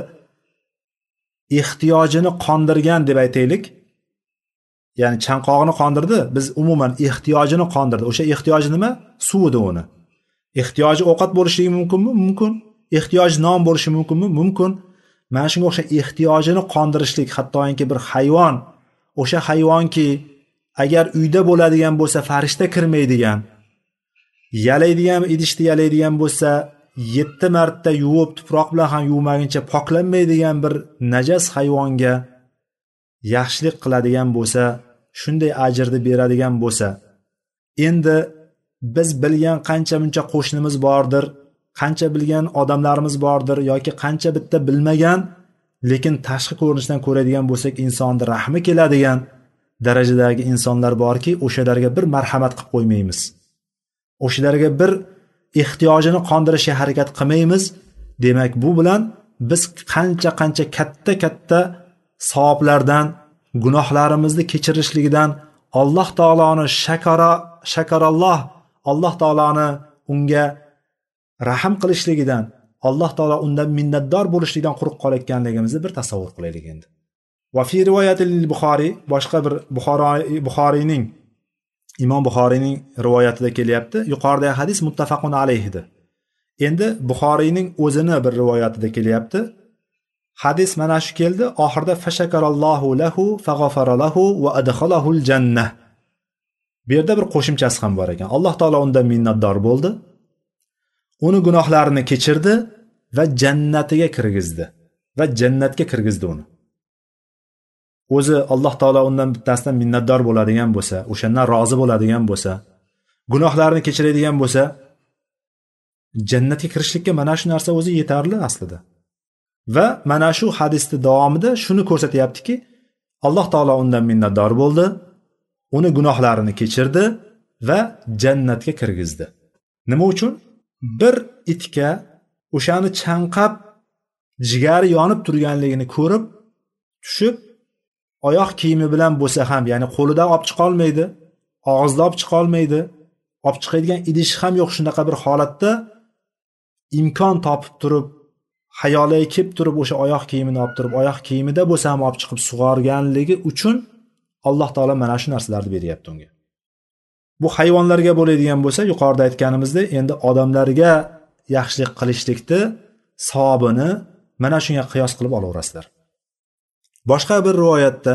ehtiyojini qondirgan deb aytaylik. Ya'ni chanqog'ini qondirdi, biz umuman ehtiyojini qondirdi. O'sha ehtiyoji nima? Suv edi uni. Ehtiyoji ovqat bo'lishligi mumkinmi? Mumkin. Ehtiyoji non bo'lishi mumkinmi? Mumkin. Mana shunga o'xshash ehtiyojini qondirishlik, hattoki bir hayvon, o'sha hayvonki agar uyda bo'ladigan bo'lsa farishta kirmaydigan, yalaydigan idishni yalaydigan bo'lsa 7 marta yuvib tuproq bilan ham yuvmaguncha poklanmaydigan bir najas hayvonga yaxshilik qiladigan bo'lsa, shunday ajrni beradigan bo'lsa, endi biz bilgan qancha muncha qo'shnimiz bordir, qancha bilgan odamlarimiz bordir yoki qancha bitta bilmagan, lekin tashqi ko'rinishdan ko'radigan bo'lsak insonni rahmi keladigan darajadagi insonlar borki, o'shalarga bir marhamat qilib qo'ymaymiz. O'shalarga bir ehtiyojini qondirishga harakat qilmaymiz. Demak, bu bilan biz qancha katta savoblardan, gunohlarimizni kechirishligidan, Alloh taoloni shakaralloh, Alloh taoloni unga rahm qilishligidan, Alloh taolo undan minnatdor bo'lishligidan quruq qolayotganligimizni bir tasavvur qilaylik endi. Va fi rivoyatil Buxoriy, boshqa bir Buxoriyning Imom Buxoriyning rivoyatida kelyapti. Yuqoridagi hadis muttafaqun alayhidir. Endi Buxoriyning o'zini bir rivoyatida kelyapti. Hadis mana shu keldi, oxirida fashakarallohu lahu faghafara lahu va adkhalahul jannah. Bu yerda bir qo'shimchasi ham bor ekan. Alloh taolo undan minnatdor bo'ldi. Uni gunohlarini kechirdi va jannatiga kirgizdi va jannatga kirgizdi uni. O'zi Alloh taolo undan bittasidan minnatdor bo'ladigan bo'lsa, o'shandan rozi bo'ladigan bo'lsa, gunohlarini kechiradigan bo'lsa, jannatga kirishlikka mana shu narsa o'zi yetarli aslida. Va mana shu hadisning davomida shuni ko'rsatyaptiki, Alloh taolo undan minnatdor bo'ldi, uni gunohlarini kechirdi va jannatga kirgizdi. Nima uchun? Bir itga o'shani chanqab jigari yonib turganligini ko'rib, tushib oyoq kiyimi bilan bo'lsa ham, ya'ni qo'lida olib chiqa olmaydi, og'izda olib chiqa olmaydi, olib chiqadigan idishi ham yo'q, shunaqa bir holatda imkon topib turib, hayoliga kelib turib o'sha oyoq kiyimini olib turib, oyoq kiyimida bo'lsa ham olib chiqib sug'organligi uchun Alloh taolo mana shu narsalarni beryapti unga. Bu hayvonlarga bo'ladigan bo'lsa, yuqorida aytganimizdek, endi odamlarga yaxshilik qilishlikni savobini mana shunga qiyos qilib olaverasizlar. Boshqa bir rivoyatda,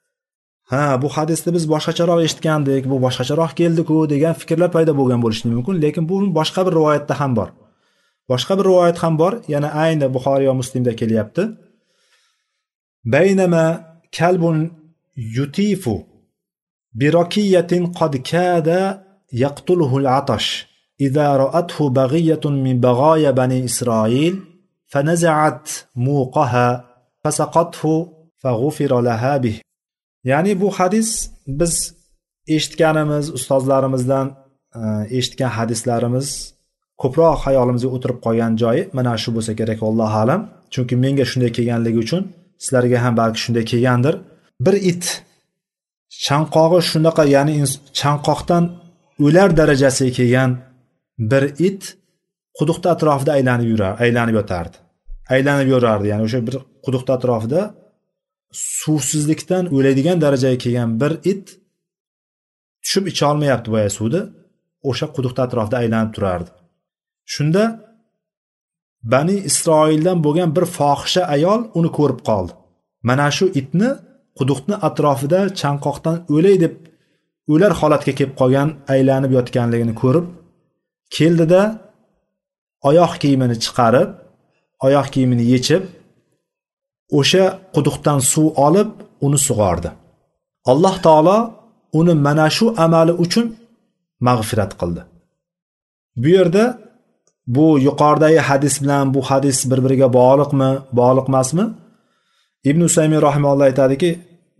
bu hadisni biz boshqacharoq eshitgandik, bu boshqacharoq keldi-ku degan fikrlar paydo bo'lgan bo'lishi mumkin, lekin bu boshqa bir rivoyatda ham bor. Boshqa bir rivoyat ham bor, yana ayni Buxoriy va Muslimda kelyapti. Baynama kalbun yutifu birakiyatin qad kada yaqtuluhu al-atash idza ra'athu baghiyatun min baghaya bani Isroil fanaza'at muqaha fasaqathu faghufira laha bih. Ya'ni bu hadis biz eshitganimiz, ustozlarimizdan eshitgan hadislarimiz ko'proq hayolimizga o'tirib qolgan joyi mana shu bo'lsa kerak, Alloh alam. Chunki menga shunday kelganligi uchun sizlarga ham balki shunday kelgandir. Bir it chanqog'i shunaqa, ya'ni chanqoqdan o'lar darajasiga kelgan bir it quduqda atrofida aylanib yotardi. Aylanib yurardi, ya'ni o'sha bir quduqda atrofida suvsizlikdan o'laydigan darajaga kelgan bir it tushib icha olmayapti boya suvni, o'sha quduqda atrofida aylanib turardi. Shunda Bani Isroildan bo'lgan bir fohisha ayol uni ko'rib qoldi. Mana shu itni quduqni atrofida chanqoqdan o'lay deb o'lar holatga kelib qolgan, aylanib yotganligini ko'rib, keldida oyoq kiyimini chiqarib, oyoq kiyimini yechib, o'sha quduqdan suv olib, uni sug'ordi. Alloh taolo uni mana shu amali uchun mag'firat qildi. Bu yerda bu yuqoridagi hadis bilan bu hadis bir-biriga bog'liqmi, bog'liq emasmi? Ibn Usaymin rahimahulloh aytadiki,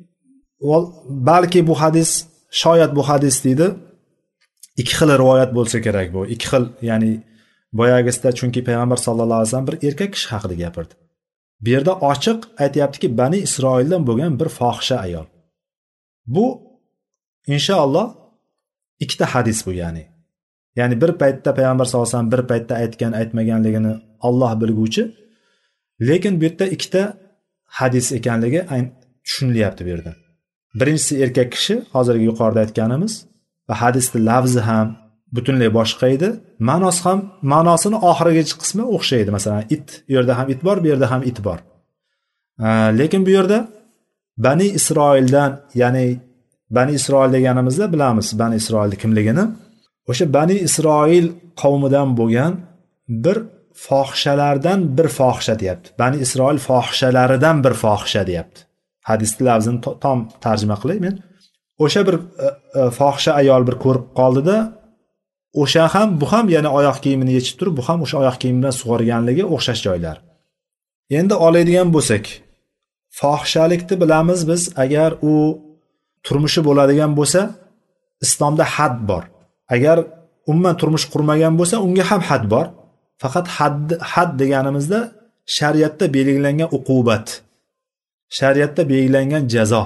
balki bu hadis, shoyat bu hadis deydi, ikki xil rivoyat bo'lsa kerak bu. Ikki xil, ya'ni boyagisida, chunki payg'ambar sallallohu alayhi vasallam bir erkak kishi haqida gapirdi. Bu yerda ochiq aytayaptiki, Bani Isroildan bo'lgan bir fohisha ayol. Bu inshaalloh ikkita hadis bu, ya'ni bir paytda payg'ambar sallallohu alayhi vasallam bir paytda aytgan aytmaganligini Alloh bilguvchi, lekin bu yerda ikkita hadis ekanligi tushunilyapti bu yerda. Birinchisi erkak kishi, hozirgi yuqorida aytganimiz, va hadisning lafzi ham butunlay boshqa edi, ma'nosini oxirgi qismi o'xshaydi. Masalan, it, bu yerda ham it bor, bu yerda ham it bor. Lekin bu yerda Bani Isroildan, ya'ni Bani Isroil deganimizda bilamiz Bani Isroilning kimligini. O'sha Bani Isroil qavmidan bo'lgan bir fohishalardan bir fohisha deyapti. Bani Isroil fohishalaridan bir fohisha deyapti. Hadisning lafzini tom tarjima qilay men. O'sha bir fohisha ayol bir ko'rib qoldida, o'sha ham bu ham yana oyoq kiyimini yechib turib, bu ham o'sha oyoq kiyim bilan sug'organligi o'xshash joylar. Endi oladigan bo'lsak, fohishalikni bilamiz biz, agar u turmushi bo'ladigan bo'lsa, islomda had bor. Agar umuman turmush qurmagan bo'lsa, unga ham had bor. Faqat had deganimizda shariatda belgilangan uqubat, shariatda belgilangan jazo.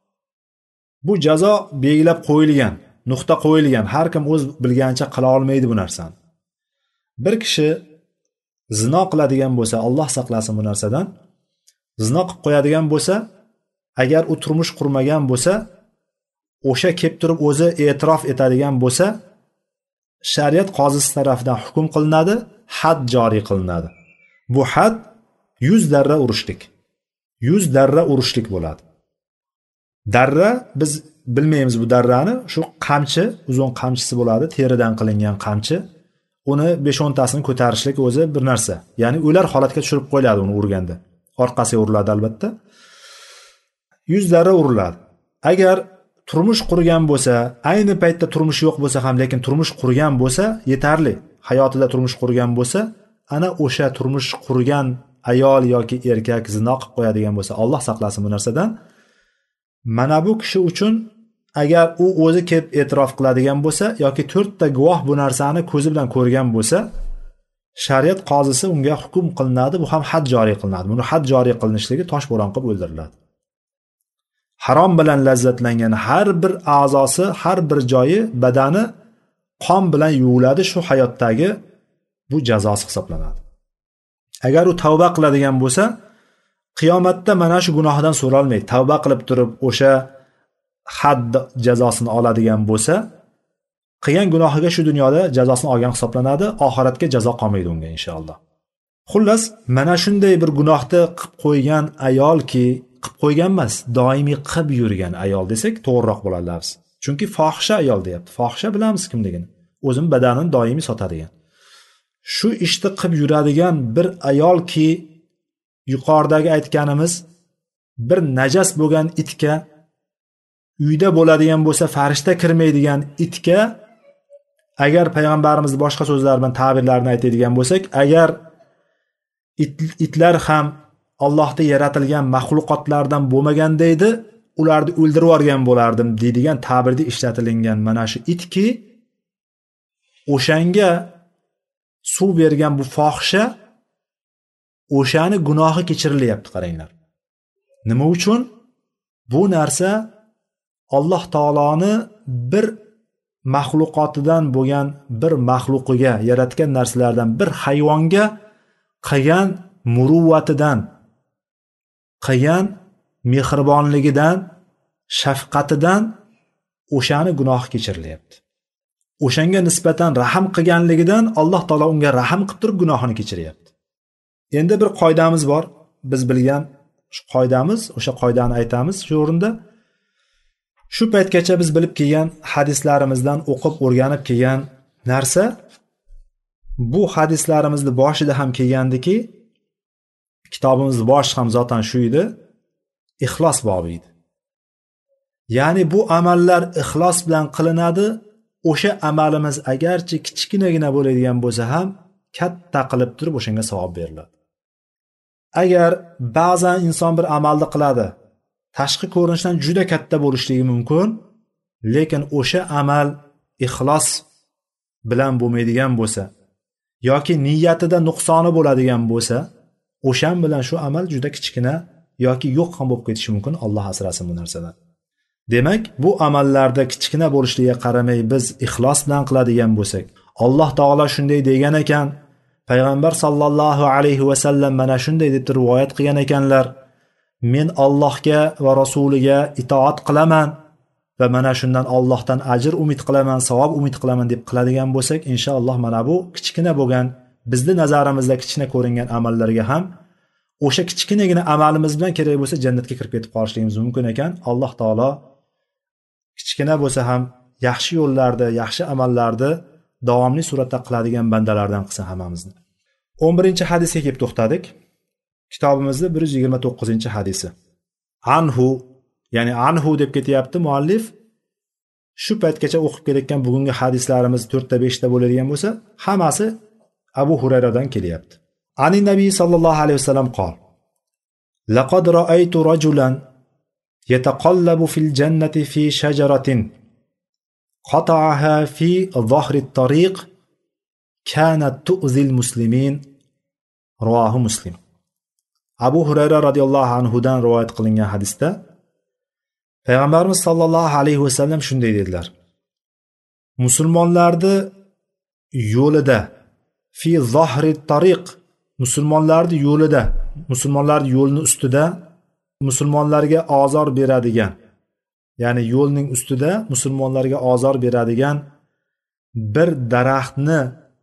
Bu jazo belgilab qo'yilgan, nuqta qo'yilgan. Har kim o'z bilganicha qila olmaydi bu narsani. Bir kishi zino qiladigan bo'lsa, Alloh saqlasin bu narsadan, zino qilib qo'yadigan bo'lsa, agar u turmush qurmagan bo'lsa, o'sha kelib turib o'zi e'tirof etadigan bo'lsa, shariat qozisi tomonidan hukm qilinadi, had joriy qilinadi. Bu had 100 darra urishlik. 100 darra urishlik bo'ladi. Darra, biz bilmaymiz bu darrani, shu qamchi, uzun qamchisi bo'ladi, teridan qilingan qamchi. Uni 5-10 tasini ko'tarishlik o'zi bir narsa. Ya'ni o'lar holatga tushirib qo'yiladi uni urganda. Orqasiga uriladi albatta. 100 darra uriladi. Agar turmush qurgan bo'lsa, ayni paytda turmush yo'q bo'lsa ham, lekin turmush qurgan bo'lsa, yetarli. Hayotida turmush qurgan bo'lsa, ana o'sha turmush qurgan ayol yoki erkak zino qilib qo'yadigan bo'lsa, Alloh saqlasin bu narsadan. Mana bu kishi uchun agar u o'zi kelib e'tirof qiladigan bo'lsa yoki 4 ta guvoh bu narsani ko'zi bilan ko'rgan bo'lsa, shariat qozisi unga hukm qilinadi, bu ham had joriy qilinadi. Buni had joriy qilinishligi toshbo'ron qilib o'ldiriladi. Harom bilan lazzatlangan har bir a'zosi, har bir joyi, badani qon bilan yuviladi, shu hayotdagi bu jazosi hisoblanadi. Agar u tavba qiladigan bo'lsa, qiyomatda mana shu gunohidan so'ralmaydi. Tavba qilib turib o'sha had jazosini oladigan bo'lsa, qilgan gunohiga shu dunyoda jazosini olgan hisoblanadi, oxiratga jazo qolmaydi unga inshaalloh. Xullas, mana shunday bir gunohni qilib qo'ygan ayolki, qilib qo'ygan emas, doimiy qilib yurgan ayol desak to'g'riroq bo'ladi lafz. Chunki fohisha ayol deyapti. Fohisha bilamiz kimligini. O'zim badanini doimiy sotadigan. Shu ishni qilib yuradigan bir ayolki, yuqoridagi aytganimiz bir najas bo'lgan itga, uyda bo'ladigan bo'lsa farishta kirmaydigan itga, agar payg'ambarimiz boshqa so'zlar bilan ta'birlarini aytadigan bo'lsak, agar itlar ham Allohning yaratilgan maxluqotlardan bo'lmaganda edi, ularni o'ldirib yuborgan bo'lardim deydigan ta'birda ishlatilingan mana shu itki, o'shanga suv bergan bu fohisha, o'shani gunohi kechirilyapti, qaranglar. Nima uchun? Bu narsa Alloh taoloni bir maxluqotidan bo'lgan bir maxluqiga, yaratgan narsalardan bir hayvonga qilgan muruvvatidan, qilgan mehribonligidan, shafqatidan o'shani gunohi kechirilyapti. O'shanga nisbatan rahm qilganligidan Alloh taolo unga rahm qilib turib gunohini kechiryapti. Endi bir qoidamiz bor, biz bilgan shu qoidamiz, o'sha qoidani aytamiz shu o'rinda. Shu paytgacha biz bilib kelgan hadislarimizdan o'qib o'rganib kelgan narsa, bu hadislarimizni boshida ham kelgandiki, kitobimiz boshi ham zotan shu edi, ixlos bobi edi. Ya'ni bu amallar ixlos bilan qilinadi. O'sha amalimiz agarchi kichkinagina bo'ladigan bo'lsa ham katta qilib turib o'shanga savob beriladi. Agar ba'zan inson bir amalni qiladi, tashqi ko'rinishdan juda katta bo'lishligi mumkin, lekin o'sha amal ixlos bilan bo'lmaydigan bo'lsa, yoki niyatida nuqsoni bo'ladigan bo'lsa, o'shan bilan shu amal juda kichkina yoki yo'q ham bo'lib ketishi mumkin. Alloh asrasin bu narsadan. Demak, bu amallarda kichkina bo'lishligiga qaramay biz ixlos bilan qiladigan bo'lsak, Alloh taolo shunday degan ekan, payg'ambar sallallohu alayhi va sallam mana shunday deb rivoyat qilgan ekanlar, men Allohga va rasuliga itoat qilaman va mana shundan Allohdan ajr umid qilaman, savob umid qilaman deb qiladigan bo'lsak, inshaalloh mana bu kichkina bo'lgan, bizning nazarimizda kichkina ko'ringan amallarga ham o'sha kichkinagina amalimiz bilan kerak bo'lsa jannatga kirib ketib qolishligimiz mumkin ekan. Alloh taolo kichkina bo'lsa ham yaxshi yo'llarda, yaxshi amallarni davomli suratda qiladigan bandalardan qilsin hammamizni. 11-hadisga kelib to'xtadik. Kitobimizning 129-hadisi. Anhu, ya'ni anhu deb ketyapti muallif. Shu paytgacha o'qib kelayotgan bugungi hadislarimiz 4 ta 5 ta bo'ladigan bo'lsa, hammasi Abu Hurayradan kelyapti. Ani Nabiy sallallohu alayhi vasallam qol: Laqad ra'aytu rajulan yataqallabu fil jannati fi shajaratin qata'aha fi dhahri at-tariq kanat tu'zil muslimin. Rivohi Muslim. Abu Hurayra radhiyallohu anhu dan rivoyat qilingan hadisda Payg'ambarimiz sallallohu alayhi vasallam shunday dedilar: Musulmonlarni yo'lida, fi zahri tariq, musulmonlarni yo'lida, musulmonlarning yo'lini ustida musulmonlarga ozor beradigan, ya'ni yo'lning ustida musulmonlarga ozor beradigan bir daraxtni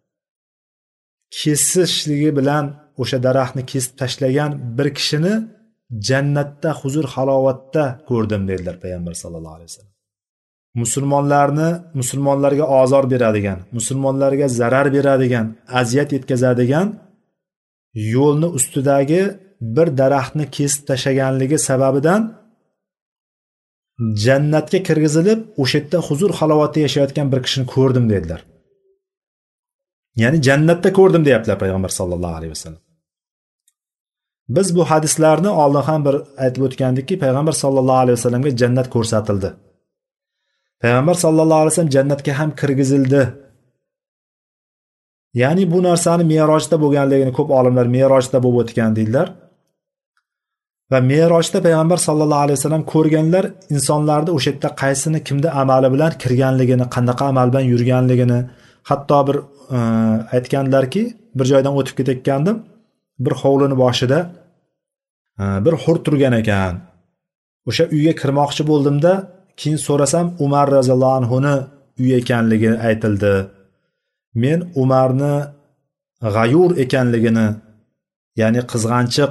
kesishligi bilan o'sha daraxtni kesib tashlagan bir kishini jannatda huzur halovatda ko'rdim dedilar payg'ambar sallallohu alayhi vasallam. Musulmonlarga ozor beradigan, musulmonlarga zarar beradigan, aziyat yetkazadigan yo'lni ustidagi bir daraxtni kesib tashlaganligi sababidan jannatga kirgizilib, o'sha yerda huzur halovatda yashayotgan bir kishini ko'rdim dedilar. Ya'ni jannatda ko'rdim deyaptilar payg'ambar sallallohu alayhi vasallam. Biz bu hadislarni oldin ham bir aytib o'tgandikki, payg'ambar sallallohu alayhi vasallamga jannat ko'rsatildi. Payg'ambar sallallohu alayhi vasallam jannatga ham kirgizildi. Ya'ni bu narsani Me'rojda bo'lganligini ko'p olimlar Me'rojda bo'lib o'tgan deydilar. Va Me'rojda payg'ambar sallallohu alayhi vasallam ko'rganlar insonlarni o'sha yerda qaysini kimda amali bilan kirganligini, qanaqa amal bilan yurganligini, hatto bir aytganlarki, bir joydan o'tib ketayotgandim, bir hovlini boshida bir hur turgan ekan. O'sha uyga kirmoqchi bo'ldimda, keyin so'rasam Umar roziyallohu anhuni uyi ekanligi aytildi. Men Umarni g'ayur ekanligini, ya'ni qizg'anchiq,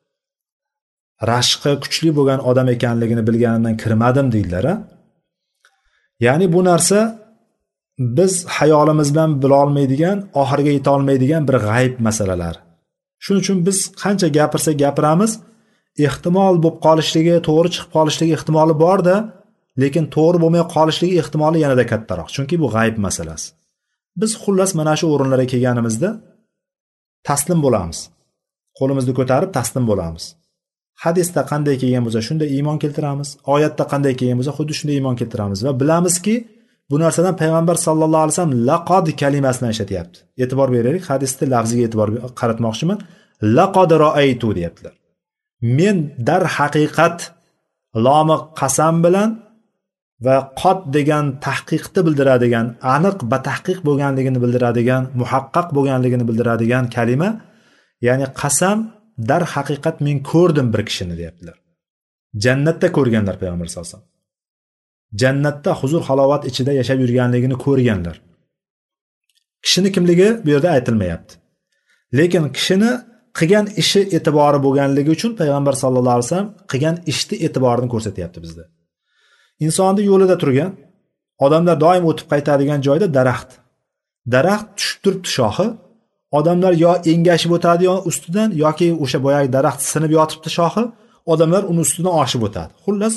rashqi kuchli bo'lgan odam ekanligini bilganimdan kirmadim deydilar. Ya'ni bu narsa biz hayolimiz bilan bila olmaydigan, oxiriga yeta olmaydigan bir g'ayb masalalar. Shuning uchun biz qancha gapirsak gapiramiz, ehtimol bo'lib qolishligi, to'g'ri chiqib qolishligi ehtimoli bor-da, lekin to'g'ri bo'lmay qolishligi ehtimoli yanada kattaroq. Chunki bu g'ayb masalasi. Biz xullas mana shu o'rinlarga kelganimizda taslim bo'lamiz. Qo'limizni ko'tarib taslim bo'lamiz. Hadisda qanday kelgan bo'lsa shunda iymon keltiramiz, oyatda qanday kelgan bo'lsa xuddi shunday iymon keltiramiz va bilamizki, bu narsadan payg'ambar sallallohu alayhi vasallam laqad kalimasini ishlatyapti. E'tibor beraylik, hadisda lafziga e'tibor qaratmoqchiman. Laqad ra'aytu deyaptilar. Men dar haqiqat lomi qasam bilan va qod degan tahqiqni bildiradigan, aniq batahqiq bo'lganligini bildiradigan, muhaqqaq bo'lganligini bildiradigan kalima, ya'ni qasam, dar haqiqat men ko'rdim bir kishini deyaptilar. Jannatda ko'rganlar payg'ambar sallallohu alayhi vasallam. Jannatda huzur halovat ichida yashab yurganligini ko'rganlar. Kishini kimligi bu yerda aytilmayapti. Lekin kishini qilgan ishi e'tibori bo'lganligi uchun payg'ambar sallallohu alayhi vasallam qilgan ishni e'tiborini ko'rsatyapti bizda. Insonni yo'lida turgan, odamlar doim o'tib qaytadigan joyda daraxt. Daraxt tushib turibdi shoxi. Odamlar yo engashib o'tadi yo ustidan, yoki o'sha boyagi daraxt sinib yotibdi shoxi, odamlar uni ustidan oshib o'tadi. Xullas,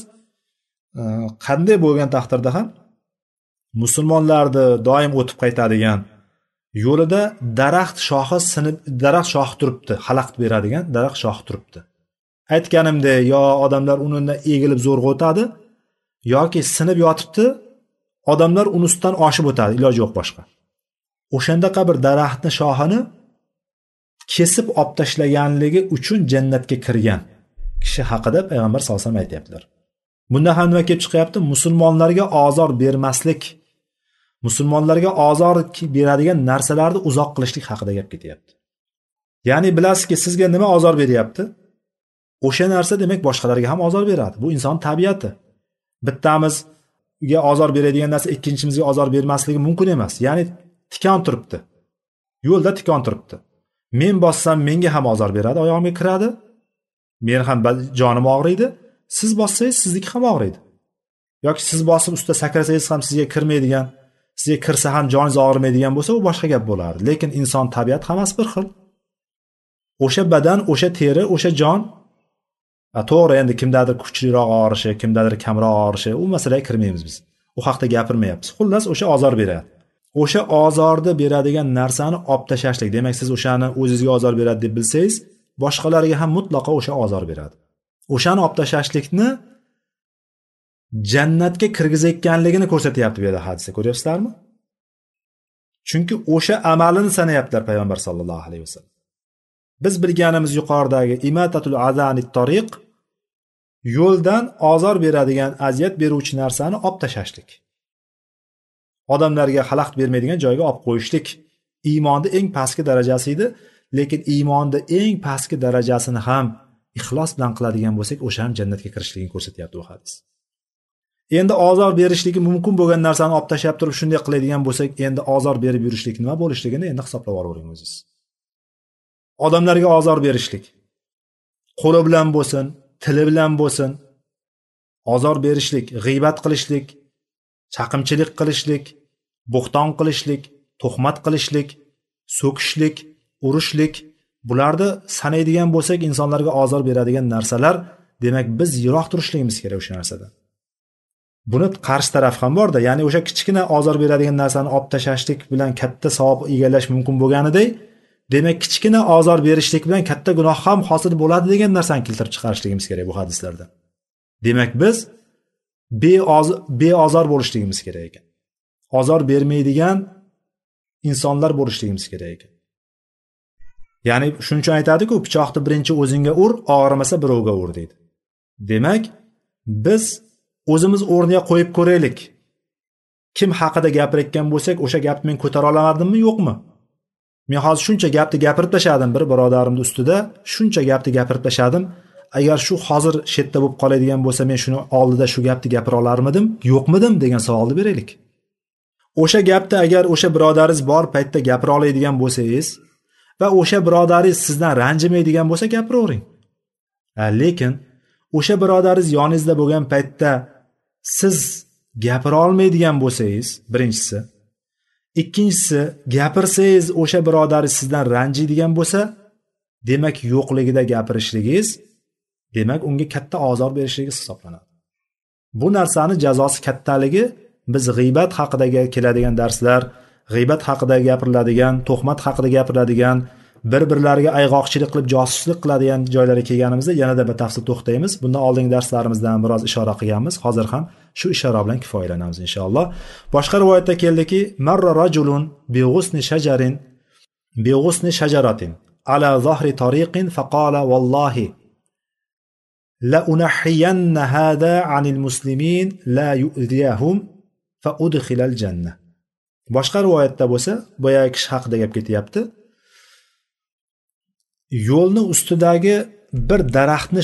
qanday bo'lgan taqdirda ham musulmonlarni doim o'tib qaytadigan yo'lida daraxt shoxi sinib, daraxt shoxi turibdi, xalaqit beradigan daraxt shoxi turibdi. Aytganimdek, yo odamlar undan egilib zo'rg'a o'tadi, yoki sinib yotibdi, odamlar uni ustidan oshib o'tadi, iloji yo'q boshqa. o'shandaqa bir daraxtni shoxini kesib olib tashlaganligi uchun jannatga kirgan kishi haqida payg'ambar sollallohu alayhi vasallam aytyaptilar. Bunda ham nima kelib chiqyapti? Musulmonlarga ozor bermaslik, musulmonlarga ozor beradigan narsalarni uzoq qilishlik haqida gap ketyapti. Ya'ni bilasizki, sizga nima ozor beryapti? O'sha narsa demak boshqalarga ham ozor beradi. Bu inson tabiati. Bittamizga ozor beradigan narsa ikkinchimizga ozor bermasligi mumkin emas. Ya'ni tikon turibdi. Yo'lda tikon turibdi. Men bossam menga ham ozor beradi, oyog'imga kiradi. Men ham jonim og'riydi. Siz bossangiz sizniki ham og'riydi. Yoki siz bosib ustida sakrasangiz ham sizga kirmaydigan, sizga kirsa ham joningiz og'rimaydigan bo'lsa, u boshqa gap bo'lardi. Lekin inson tabiat hammasi bir xil. O'sha badan, o'sha teri, o'sha jon, to'g'ri, endi kimdadir kuchliroq og'rishi, kimdadir kamroq og'rishi, u masalaga kirmaymiz biz. U haqda gapirmayapmiz. Xullas, o'sha ozor beradi. O'sha ozorni beradigan narsani olib tashlashlik. Demak, siz o'shani o'zingizga ozor beradi deb bilsangiz, boshqalarga ham mutlaqo o'sha ozor beradi. O'shani olib tashlashlikni jannatga kirgizayotganligini ko'rsatyapti bu yerda hadisda. Ko'ryapsizlarmi? Chunki o'sha amalini sanayaptilar payg'ambar sollallohu alayhi vasallam. Biz bilganimiz yuqoridagi imatatul azanit tariq, yo'ldan ozor beradigan, aziyat beruvchi narsani olib tashlashlik. Odamlarga xalaqit bermaydigan joyga olib qo'yishlik iymonning eng pastki darajasi edi, lekin iymonning eng pastki darajasini ham ixlos bilan qiladigan bo'lsak, o'sha ham jannatga kirishligini ko'rsatyapti bu hadis. Endi ozor berishligi mumkin bo'lgan narsani olib tashlab turib shunday qiladigan bo'lsak, endi ozor berib yurishlik nima bo'lishligini endi hisoblab olavering o'zingiz. Odamlarga ozor berishlik, qo'li bilan bo'lsin, tili bilan bo'lsin, ozor berishlik, g'iybat qilishlik, chaqimchilik qilishlik, bo'xton qilishlik, tuhmat qilishlik, so'kishlik, urishlik, bularni sanaydigan bo'lsak, insonlarga ozor beradigan narsalar, demak biz yiroq turishligimiz kerak o'sha narsadan. Buni qarshi taraf ham bor-da, ya'ni o'sha kichkina ozor beradigan narsani olib tashlashlik bilan katta savob egallash mumkin bo'lganidek, demak kichkina ozor berishlik bilan katta gunoh ham hosil bo'ladi degan narsani keltirib chiqarishligimiz kerak bu hadislarda. Demak biz beozor bo'lishligimiz kerak ekan. Ozor bermaydigan insonlar bo'lishligimiz kerak ekan. Ya'ni shuning uchun aytadi-ku, pichoqni birinchi o'zingga ur, og'rimasa birovga ur deydi. Demak, biz o'zimiz o'rniga qo'yib ko'raylik. Kim haqida gapirayotgan bo'lsak, o'sha gapni men ko'tara olamadimmi, yo'qmi? Men hozir shuncha gapni gapirib tashladim bir birodarimning ustida, shuncha gapni gapirib tashladim. Agar shu hozir shetda bo'lib qoladigan bo'lsa, men shuni oldida shu gapni gapira olarmidim, yo'qmidim degan savolni beraylik. O'sha gapni agar o'sha birodaringiz bor paytda gapira oladigan bo'lsangiz va o'sha birodaringiz sizdan ranjimaydigan bo'lsa gapiravering. Lekin o'sha birodaringiz yoningizda bo'lgan paytda siz gapira olmaydigan bo'lsangiz, birinchisi, ikkinchisi, gapirsangiz o'sha birodaringiz sizdan ranjiydigan bo'lsa, demak yo'qligida gapirishligingiz, demak unga katta ozor berishligingiz hisoblanadi. Bu narsani jazosi kattaligi biz g'iybat haqida keladigan darslar, g'iybat haqida gapiriladigan, tuhmat haqida gapiriladigan, bir-birlariga ayg'oqchilik qilib josuslik qiladigan joylarga kelganimizda yanada batafsil to'xtaymiz. Bundan oldingi darslarimizdan biroz ishora qilganmiz. Hozir ham shu ishora bilan kifoyalanamiz inshaalloh. Boshqa rivoyatda keldiki, marra rajulun bi ghusni shajaratin ala zahri tariqin faqala wallahi la unahhiyanna hada anil muslimin la yu'diyahum fa udkhilal jannah. Boshqa rivoyatda bo'lsa, boyagi kishi haqida gap ketyapti. Yo'lni ustidagi bir daraxtni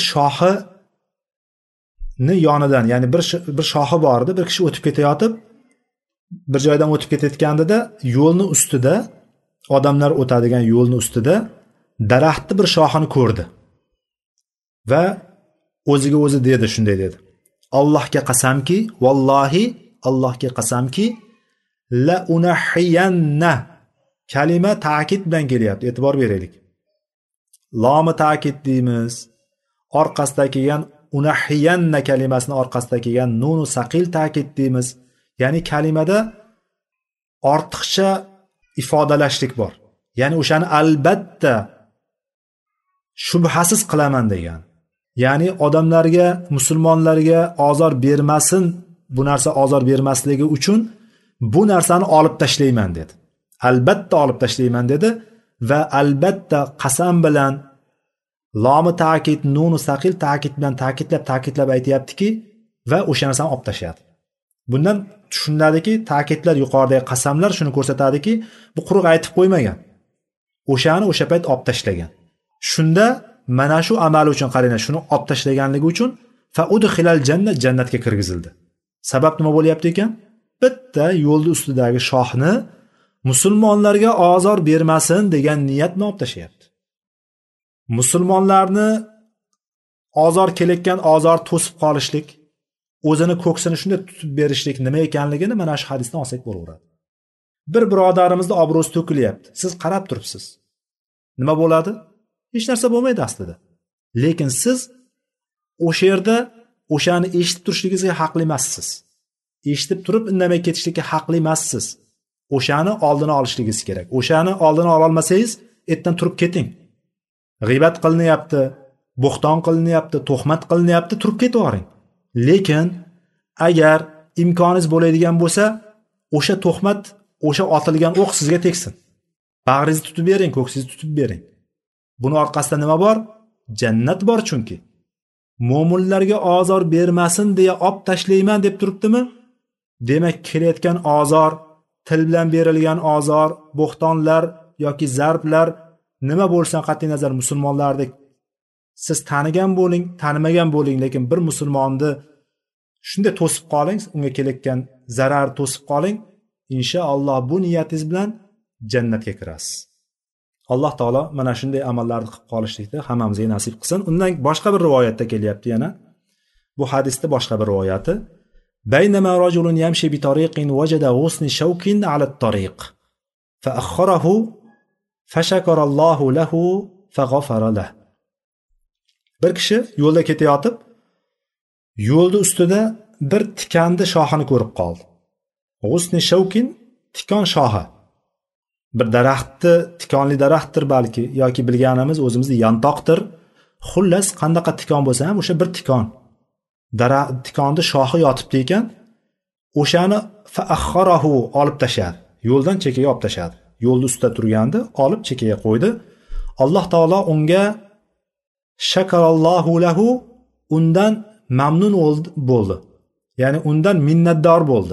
shoxini yonidan, ya'ni bir shoxi bor edi, bir kishi o'tib ketayotib, bir joydan o'tib ketayotgandida yo'lni ustida, odamlar o'tadigan yo'lni ustida daraxtni bir shoxini ko'rdi. Va o'ziga o'zi dedi, shunday dedi. Allohga qasamki, vallohi Allohga qasamki, la unahhiyanna kalima ta'kid bilan kelyapti. E'tibor beraylik. Lomi ta'kid deymiz. Orqasida kelgan unahhiyanna kalimasini orqasida kelgan nunu saqil ta'kid deymiz. Ya'ni kalimada ortiqcha ifodalashlik bor. Ya'ni o'shani albatta shubhasiz qilaman degan. Ya'ni odamlarga, musulmonlarga ozor bermasin, bu narsa ozor bermasligi uchun bu narsani olib tashlayman dedi. albatta olib tashlayman dedi va albatta qasam bilan lomi ta'kid nunu saqil ta'kid bilan ta'kidlab aytayaptiki va o'sha narsani olib tashlayapti. Bundan tushuniladiki, ta'kidlar yuqoridagi qasamlar shuni ko'rsatadiki, bu quruq aytib qo'ymagan. O'shani o'sha payt olib tashlagan. Shunda mana shu amal uchun qaranglar, shuni olib tashlaganligi uchun fa udkhilal jannat, jannatga kirgizildi. Sabab nima bo'lyapti ekan? Bitta yo'lning ustidagi shohni musulmonlarga ozor bermasin degan niyat bilan olib tashlayapti. Musulmonlarni ozor kelayotgan ozor to'sib qolishlik, o'zini ko'ksini shunday tutib berishlik nima ekanligini mana shu hadisdan olsak bo'laveradi. Bir birodarimizni obro'si to'kilyapti. Siz qarab turibsiz. Nima bo'ladi? Hech narsa bo'lmaydi aslida. Lekin siz o'sha yerda o'shani eshitib turishligingizga haqli emassiz. Eshitib turib indamay ketishlikka haqli emassiz. O'shani oldini olishligingiz kerak. O'shani oldini ola olmasangiz, ertadan turib keting. G'iybat qilinyapti, bo'xton qilinyapti, tuhmat qilinyapti, turib ketavering. Lekin agar imkoningiz bo'ladigan bo'lsa, o'sha tuhmat, o'sha otilgan o'q sizga tegsin. Bag'ringizni tutib bering, ko'ksingizni tutib bering. Buni orqasida nima bor? Jannat bor chunki. Mo'minlarga ozor bermasin deya olib tashlayman deb turibdimi? Demak, kelayotgan ozor, til bilan berilgan ozor, bo'xtonlar yoki zarblar nima bo'lsa qat'iy nazar musulmonlardek siz tanigan bo'ling, tanimagan bo'ling, lekin bir musulmonni shunday to'sib qoling, unga kelayotgan zarar to'sib qoling, inshaalloh bu niyatingiz bilan jannatga kirasiz. Alloh taolo mana shunday amallarni qilib qolishlikni hammamizga nasib qilsin. Undan boshqa bir rivoyatda kelyapti yana. Bu hadisda boshqa bir rivoyati. Baynama rajulun yamshi bi tariqin wajada ghusni shawkin ala at-tariq fa akhkharahu fa shakarallohu lahu fa ghafara lahu. Bir kishi yo'lda ketayotib, yo'lda ustida bir tikanni shoxini ko'rib qoldi. Ghusni shawkin tikon shoxi. Bir daraxtni, tikonli daraxtdir balki yoki bilganimiz o'zimizda yantoqdir. Xullas, qandaqa tikon bo'lsa ham o'sha bir tikon. Tikonni shoxi yotibdi ekan, o'shani fa akhkharahu olib tashladi. Yo'ldan chekkaga olib tashladi. Yo'lda ustida turgandi, olib chekkaga qo'ydi. Alloh taolo unga shakarallohu lahu, undan mamnun bo'ldi. Ya'ni undan minnatdor bo'ldi.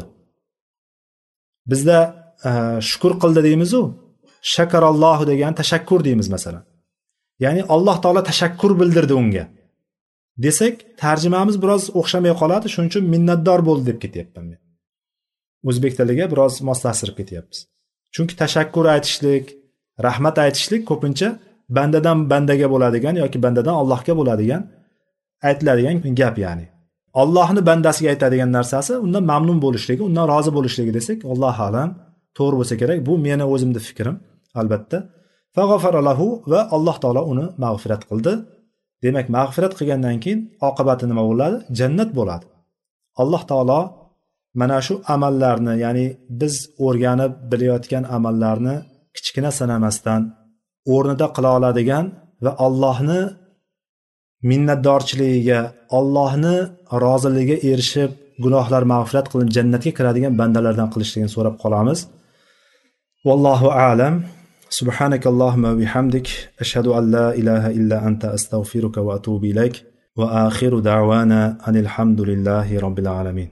Bizda shukr qildi deymiz-ku. Shakarallohu degan tashakkur deymiz masalan. Ya'ni Alloh taolo tashakkur bildirdi unga. Desak, tarjimamiz biroz o'xshamay qoladi, shuning uchun minnatdor bo'ldi deb ketyapman men. O'zbek tiliga biroz moslashtirib ketyapmiz. Chunki tashakkur aytishlik, rahmat aytishlik ko'pincha bandadan bandaga bo'ladigan yoki bandadan Allohga bo'ladigan aytiladigan gap ya'ni. Allohni bandasiga aytadigan narsasi undan mamnun bo'lishligi, undan rozi bo'lishligi desak, Alloh alam to'g'ri bo'lsa kerak. Bu meni o'zimning fikrim, albatta. Fa ghafara lahu va Alloh taolo uni mag'firat qildi. Demak, mag'firat qilgandan keyin oqibati nima bo'ladi? Jannat bo'ladi. Alloh taolo mana shu amallarni, ya'ni biz o'rganib bilayotgan amallarni kichkina sanamasdan o'rnida qila oladigan va Allohni minnatdorchiligiga, Allohni roziligiga erishib, gunohlar mag'firat qilinib jannatga kiradigan bandalardan qilishligini so'rab qolamiz. Vallohu a'lam. Subhanakallahumma va bihamdik, ashhadu an la ilaha illa anta, astaghfiruka va atubu ilayk. Va akhiru da'wana anil hamdulillahi robbil alamin.